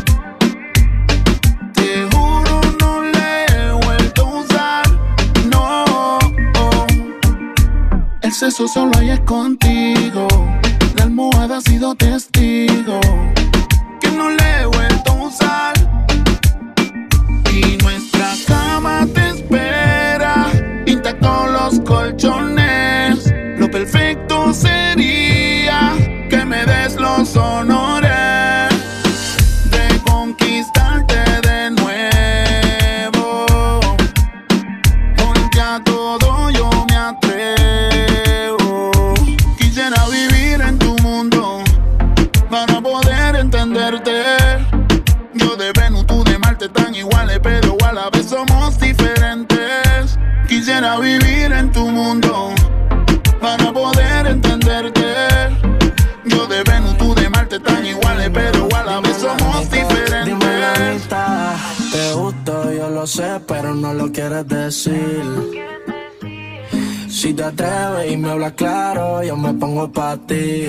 te juro no le he vuelto a usar, no. El sexo solo hay es contigo, la almohada ha sido testigo, que no le he vuelto a usar. Y nuestra cama te espera, intactos los colchones. Lo perfecto sería que me des los honores de conquistarte de nuevo, porque a todo yo me atrevo. Quisiera vivir en tu mundo para poder entenderte. Yo de Venus, tú de Marte, tan iguales, pero a la vez somos diferentes. Quisiera vivir en tu mundo para poder entenderte. Yo de Venus, tú de Marte, tan iguales, pero a la vez somos diferentes. Dime la mitad, te gusto, yo lo sé, pero no lo quieres decir. Si te atreves y me hablas claro, yo me pongo pa' ti.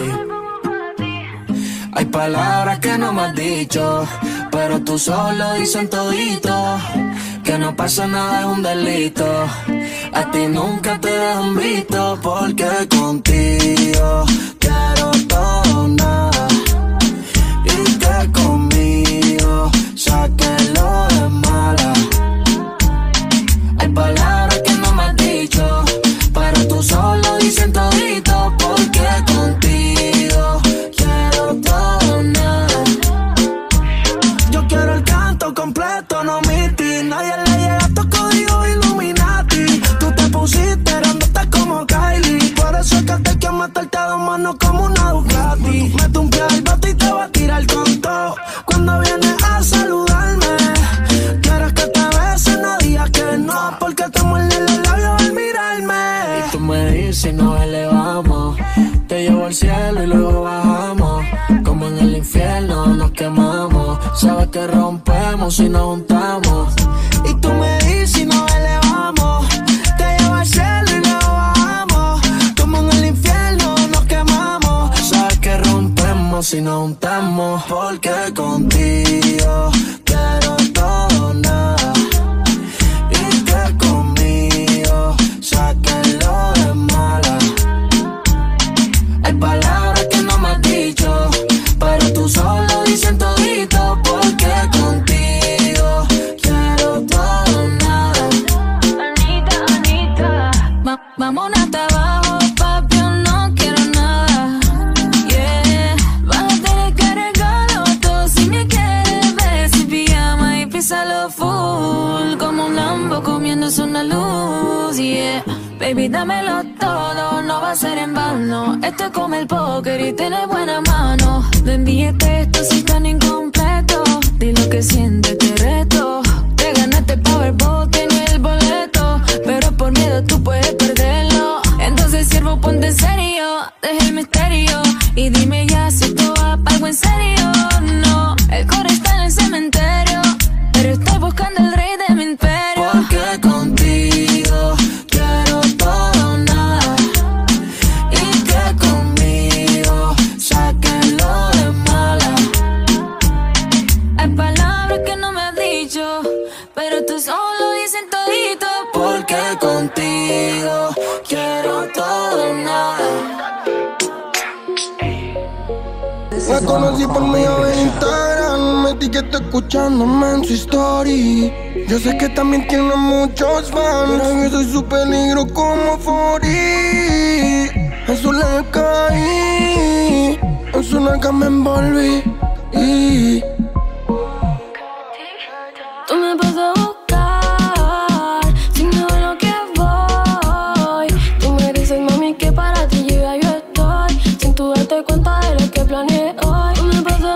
Hay palabras que no me has dicho, pero tú solo dices todito. Que no pasa nada es un delito. A ti nunca te dejan visto, porque contigo quiero todo nada, y que conmigo sáquelo de mala. Hay palabras que no me has dicho, pero tú solo dices todito, porque contigo quiero todo nada. Yo quiero el canto completo, no omití. Nadie le llega a tu código Illuminati. Tú te pusiste grandota como Kylie, por eso es que te quiero meterte a dos manos como una Ducati. Mete un pie al bote y te va a tirar con todo. Cuando vienes a saludarme, quieres que te bese, no digas que no, porque te muerden los labios al mirarme. Y tú me dices si nos elevamos, te llevo al cielo y luego bajamos. Como en el infierno nos quemamos, sabes que rompemos si nos juntamos. Y tú me dices si nos elevamos, te llevo al cielo y luego bajamos. Como en el infierno si nos juntamos, porque contigo quiero todo nada. Y que conmigo saques lo de mala. Hay palabras que no me has dicho, pero tú solo dices todito, porque contigo quiero todo nada. Anita, Anita, Va- vámonos hasta abajo, papi, yo no quiero nada. Yeah, vas a tener que arreglarlo todo si me quieres ver sin pijama y písalo full, como un Lambo comiéndose una luz. Yeah, baby, dámelo todo, no va a ser en vano. Esto es como el póker y tiene buena mano. No envíes textos si están incompletos. Di lo que sientes, te reto. Te ganaste el Powerball, tiene el boleto, pero por miedo tú puedes perderlo. Entonces, siervo, ponte en serio, deja el misterio y dime ya si esto va pa' algo en serio. No, el core está en el cementerio, pero estoy buscando el rey de mi imperio. Porque contigo quiero todo nada. Y que conmigo saques lo de mala. Hay palabras que no me has dicho, pero tú solo dices todito. Porque contigo quiero todo nada. La conocí por medio de Instagram, me etiquetó escuchándome en su story. Yo sé que también tiene muchos fans, pero yo soy su peligro como Fori. En su le caí, en su nalga me envolví. Y Tú me vas a buscar, sin nada lo que voy. Tú me dices, mami, que para ti yo ya yo estoy, sin tú darte cuenta de lo que planeé hoy. Tú me vas a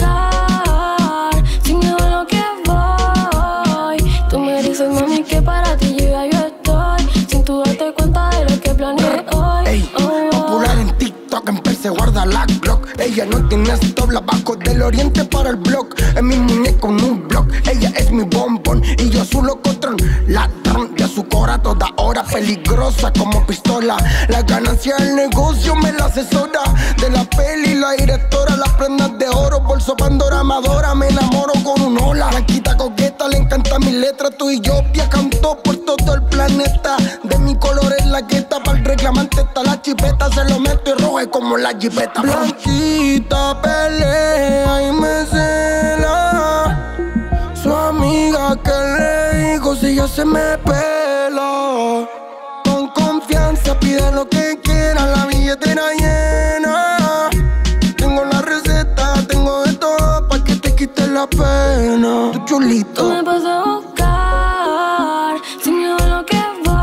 buscar, sin nada lo que voy. Tú me dices, mami, que para ti yo ya yo estoy, sin tú darte cuenta de lo que planeé hoy. ey, popular en TikTok, empecé a guardar la Glock. Ella no tiene stop, la bajo del oriente para el blog. Es mi muñeco en un blog, ella es mi bombón y yo su locotrón. Ladrón de su cora toda hora, peligrosa como pistola. La ganancia del negocio me la asesora. De la peli la directora, las prendas de oro, bolso Pandora Amadora. Me enamoro con un ola, blanquita coqueta, le encanta mi letra. Tú y yo viajando por todo el planeta. De mi color es la gueta, para el reclamante está la chipeta. Se lo meto y rojo como la jipeta. Blanquita pelea y me cela. Su amiga que le dijo si ella se me pela. Con confianza pide lo que quiera, la billetera llena. Tengo la receta, tengo de todo pa' que te quite la pena. Tu chulito. Tú me vas a buscar, sin miedo a lo que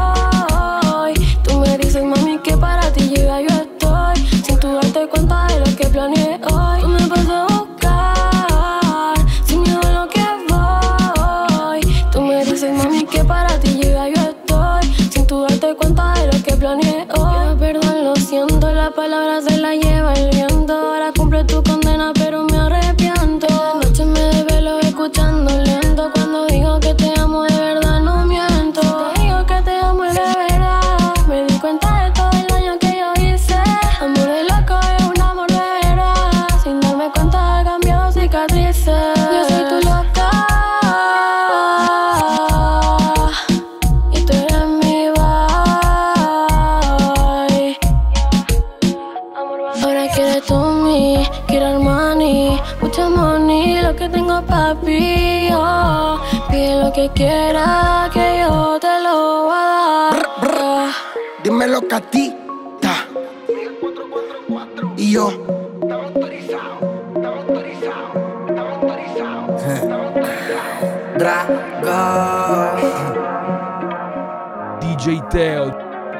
voy. Tú me dices, mami, que para ti yo ya yo estoy, sin tú darte cuenta de lo que planeé hoy. Tú me vas a buscar, sin miedo a lo que voy. Tú me dices, mami, que para ti yo ya yo estoy, sin tú darte cuenta de lo que planeé hoy. Pido perdón, lo siento, las palabras se las lleva el viento. Ahora cumple tu condena, pero me arrepiento. De noche me desvelo escuchando lento. Cuando digo que te amo de verdad no miento. Te digo que te amo de verdad. Me di cuenta de todo el daño que yo hice. Amor de loco es un amor de verdad. Sin darme cuenta he cambiado cicatrices. Yo soy tu loca y tú eres mi boy. Ahora quieres tú mí, quiero Armani, mucho money, lo que tengo papi. Oh, pide lo que quieras, que yo te lo voy a dar. Dímelo, Catita. Y yo. D J Teo.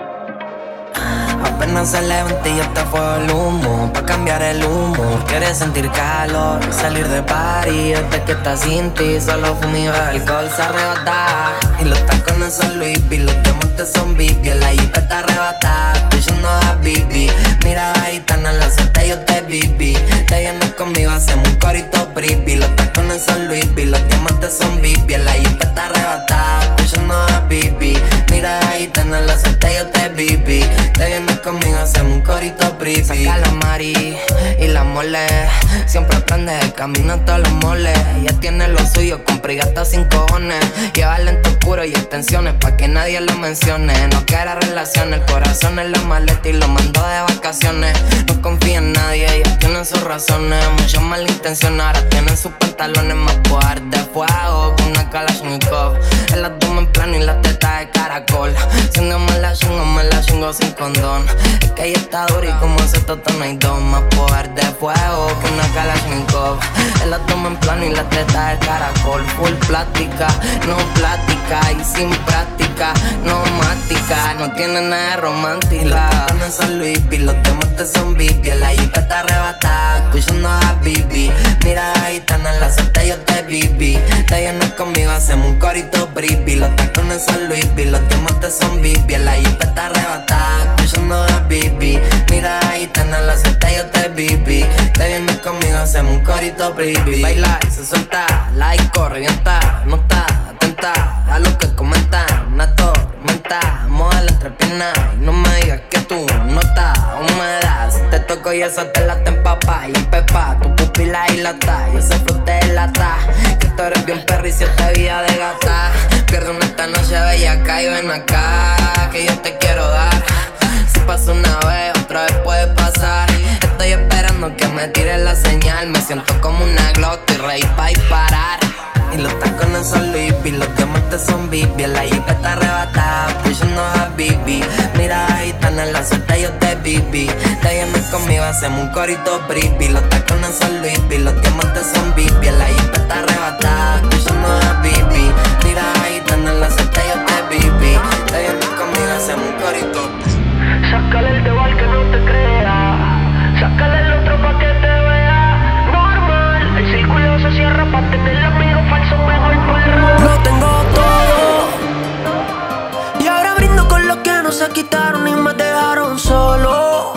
Apenas se levanta y ya está fuego el humo. Pa' cambiar el humo, quieres sentir calor, salir de party. Desde que estás sin ti, solo fumío. El alcohol se arrebata y los tacones son Louis V. Los diamantes son Big, la jipeta arrebata. Estoy yendo a Bibi, mira la gitana, la suelta yo te bibi. Te vienes conmigo, hacemos un corito bribi. Los tacones son Louis V, los diamantes son Big, la jipeta arrebata. Estoy yendo a Bibi, mira la gitana, la suelta yo te bibi. Te vienes conmigo, hacemos un corito bribi. Saca la mari y la mole. Siempre aprende el camino a todos los moles. Ella tiene lo suyo, compra y gasta sin cojones. Lleva lento oscuro y extensiones pa' que nadie lo mencione. No quiere relaciones, el corazón en la maleta y lo mandó de vacaciones. No confía en nadie, ella tiene sus razones. Muchas malas intenciones, ahora tienen sus pantalones más poder de fuego con una Kalashnikov. El abdomen plano y la teta de caracol. Siendo me la chingo, me la chingo sin condón. Es que ella está dura y como ese toto no hay dos. Más poder de fuego que una Kalashnikov. El abdomen plano y la teta de caracol. Full plástica, no plática y sin práctica, no mática. No tiene nada de romántica. No es San Luis, los temas te son bibi. La yuca está arrebatada, escuchando a Bibi. Mira la gitana, en la suerte yo te viví. Te vienes conmigo, hacemos un corito bribi. Los tacones San Luis, los temas te son bibi. La yuca está arrebatada, escuchando a Bibi. Mira la gitana, en la suerte yo te viví. Te vienes conmigo, hacemos un corito bribi. Baila y se suelta, like, corre, revienta. No está atenta a lo que comentan. Una tormenta, moda la entrepierna. Y no me digas que tú no estás humedad. Si te toco y esa te la te empapa y empepa tu pupila y lata. Y ese fruto de lata. Que tú eres bien perro y si te vida de gata. Pierdo una esta noche bella acá y ven acá. Que yo te quiero dar. Si pasa una vez, otra vez puede pasar. Estoy esperando que me tire la señal. Me siento como una Glock, estoy ready pa' disparar. Y los tacones son Louis V, los diamantes son Bibi. La jipa está arrebatada, pushando a Bibi. Mira la gitana, en la suerte yo te viví. Te vienes conmigo, hacemos un corito bribi. Los tacones son Louis V, los diamantes son Bibi. La jipa está arrebatada, pushando a Bibi. Mira la gitana, en la suerte yo te viví. Te vienes conmigo, hacemos un corito. Sácale el dedo al que no te crea. Sácale el otro pa' que te vea normal. El círculo se cierra pa' tener amigos falsos mejor fuera. Lo tengo todo y ahora brindo con los que no se quitaron y me dejaron solo.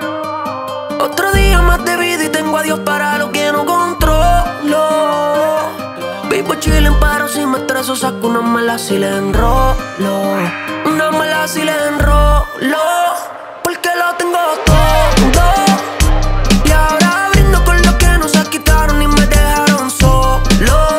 Otro día más de vida y tengo a Dios para lo que no controlo. Vivo chillin' pero si me estreso saco una mala si le enrolo. Una mala si le enrolo. Porque lo tengo todo y ahora brindo con los que no se quitaron y me dejaron solo.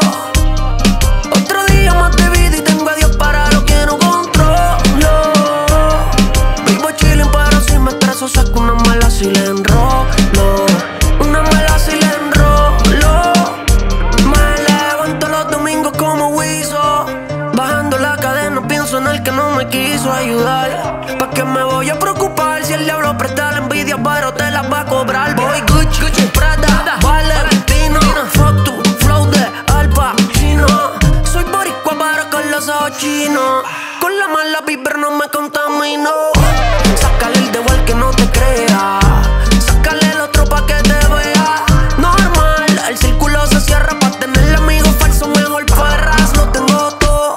Otro día más de vida y tengo a Dios para lo que no controlo. Vivo chillin' pero si me estreso saco una mala si le enrolo. Una mala si le enrolo. Me levanto los domingos como Wiso. Bajando la cadena pienso en el que no me quiso ayudar. ¿Pa' qué me voy a preocupar si el diablo presta la envidia pero te la va a cobrar? Voy Gucci, Gucci, Prada, Valentino. Fuck tu flow de Al Pacino. Soy boricua pero con los ojos chinos. Con la mala vibra no me contamino. Sácale el dedo al que no te crea. Sácale el otro pa' que te vea normal. El círculo se cierra pa' tener amigos falsos mejor perras. Lo tengo todo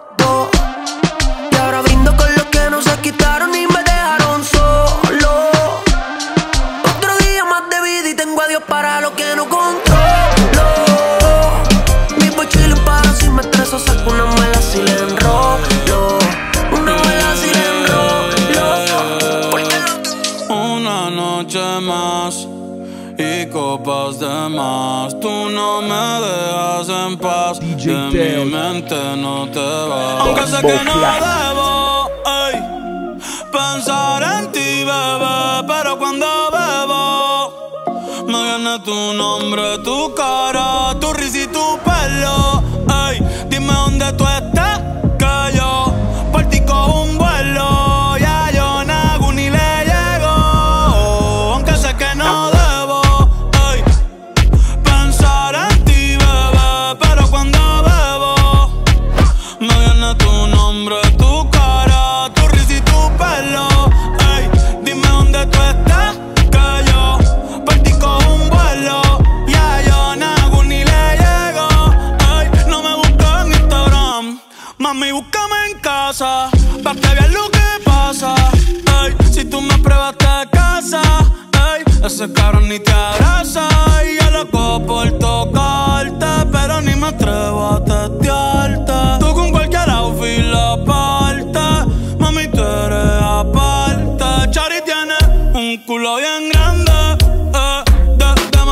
y ahora brindo con los que no se quitaron y me dejaron solo. Otro día más de vida y tengo a Dios para lo que no controlo. Vivo chillin' pero si me estreso saco una mala si le enrolo. Una mala si le enrolo. Una noche más y copas de más. Tú no me dejas en paz. D J de Teo. mi mente no te vas. Aunque sé que no debo ey, pensar en ti, bebé, pero cuando bebo me viene tu nombre, tu cara, tu risa y tu pelo. Ey, dime dónde tú estás, que yo por ti cojo un vuelo. Ya yo nago ni le llego, aunque sé que no debo ey, pensar en ti, bebé, pero cuando bebo me viene tu nombre, tu cara, tu risa y tu pelo. Ey, dime dónde tú estás, que yo por ti cojo un vuelo. Ya yo nago ni le llego. Ey, no me busques en Instagram, mami, búscame en casa, pa' que veas lo que pasa. Ey, si tú me pruebas te casa, ey, ese cabrón ni te abraza. Y yo loco por tocarte, pero ni me atrevo a testearte. Tú con cualquier outfit la parte, mami, tú eres aparte. Chari tiene un culo bien grande, eh, de, de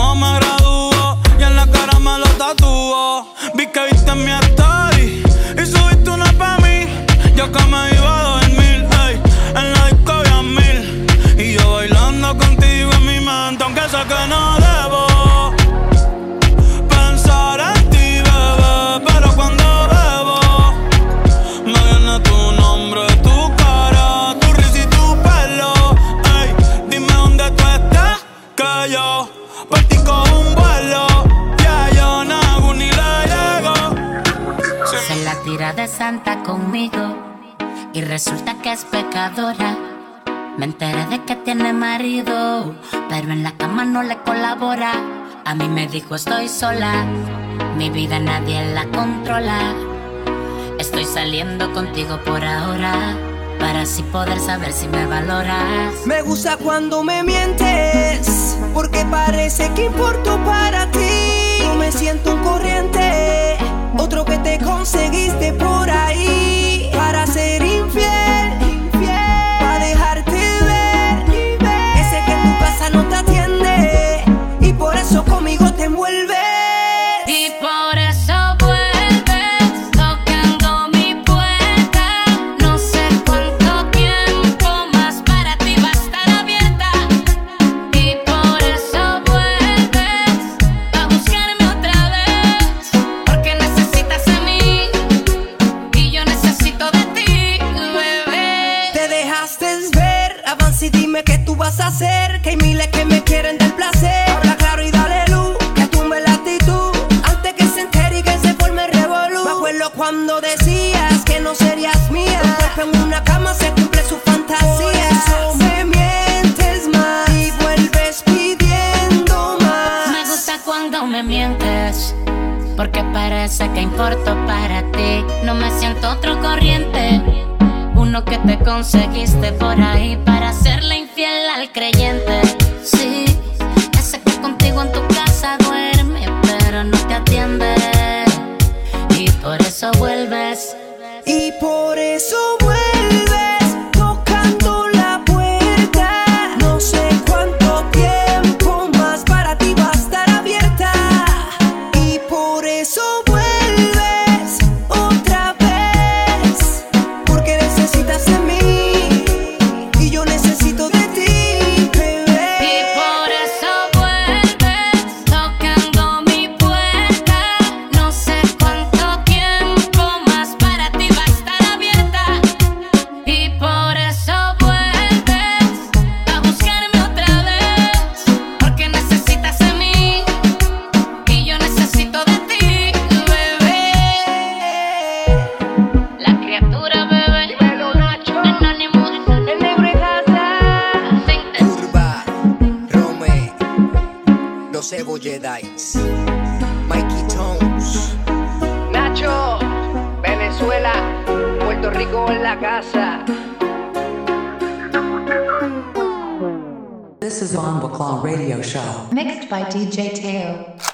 no me gradúo y en la cara me lo tatúo. Vi que viste mi story y subiste una pa' mí. Yo que me iba a dormir, ey, en la disco había mil. Y yo bailando contigo en mi mente, aunque sé que no debo pensar en ti, bebé. Pero cuando bebo, me viene tu nombre, tu cara, tu risa y tu pelo. Ey, dime dónde tú estás, que yo por ti cojo un vuelo. Ya yo no hago ni le llego. Se la tira de santa conmigo y resulta que es pecadora. Me enteré de que tiene marido, pero en la cama no le colabora. A mí me dijo estoy sola, mi vida nadie la controla. Estoy saliendo contigo por ahora, para así poder saber si me valoras. Me gusta cuando me mientes, porque parece que importo para ti. No me siento un corriente, otro que te conseguiste por ahí. Para ser infiel, para dejarte ver, ese que en tu casa no te atiende, y por eso conmigo te envuelves. Y por eso vuelves, tocando mi puerta. No sé cuánto tiempo más para ti va a estar abierta. Y por eso vuelves a buscarme otra vez, porque necesitas de mí y yo necesito de ti, bebé. Te dejaste ver, avanza y dime qué tú vas a hacer. Que hay miles que me quieren del placer. Habla claro y dale luz, que tumbe la actitud, antes que se entere y que se forme revolú. Me acuerdo cuando decías que no serías mía. Un cuerpo en una cama se cumple su fantasía. Por eso me mientes más y vuelves pidiendo más. Me gusta cuando me mientes, porque parece que importo para ti. No me siento otro corriente, uno que te conseguiste por ahí para serle infiel al creyente. Sí, ese que contigo en tu casa duerme, pero no te atiende, y por eso vuelves. Y por eso vuelves, tocando la puerta. No sé cuánto tiempo más para ti va a estar abierta. Y por eso vuelves otra vez, porque necesitas de mí y yo necesito de ti, bebé. Y por eso vuelves, tocando mi puerta. No sé cuánto tiempo más para ti va a estar abierta. Y por eso vuelves a buscarme otra vez, porque necesitas de mí y yo necesito de ti, bebé. La criatura, bebé. Anónimo, el negro y casa. Urba, Rome, los Cebolledais, Mikey Tones, Nacho, Venezuela, Puerto Rico en la casa. This is Von Baclaw Radio Show. Mixed by D J Teo.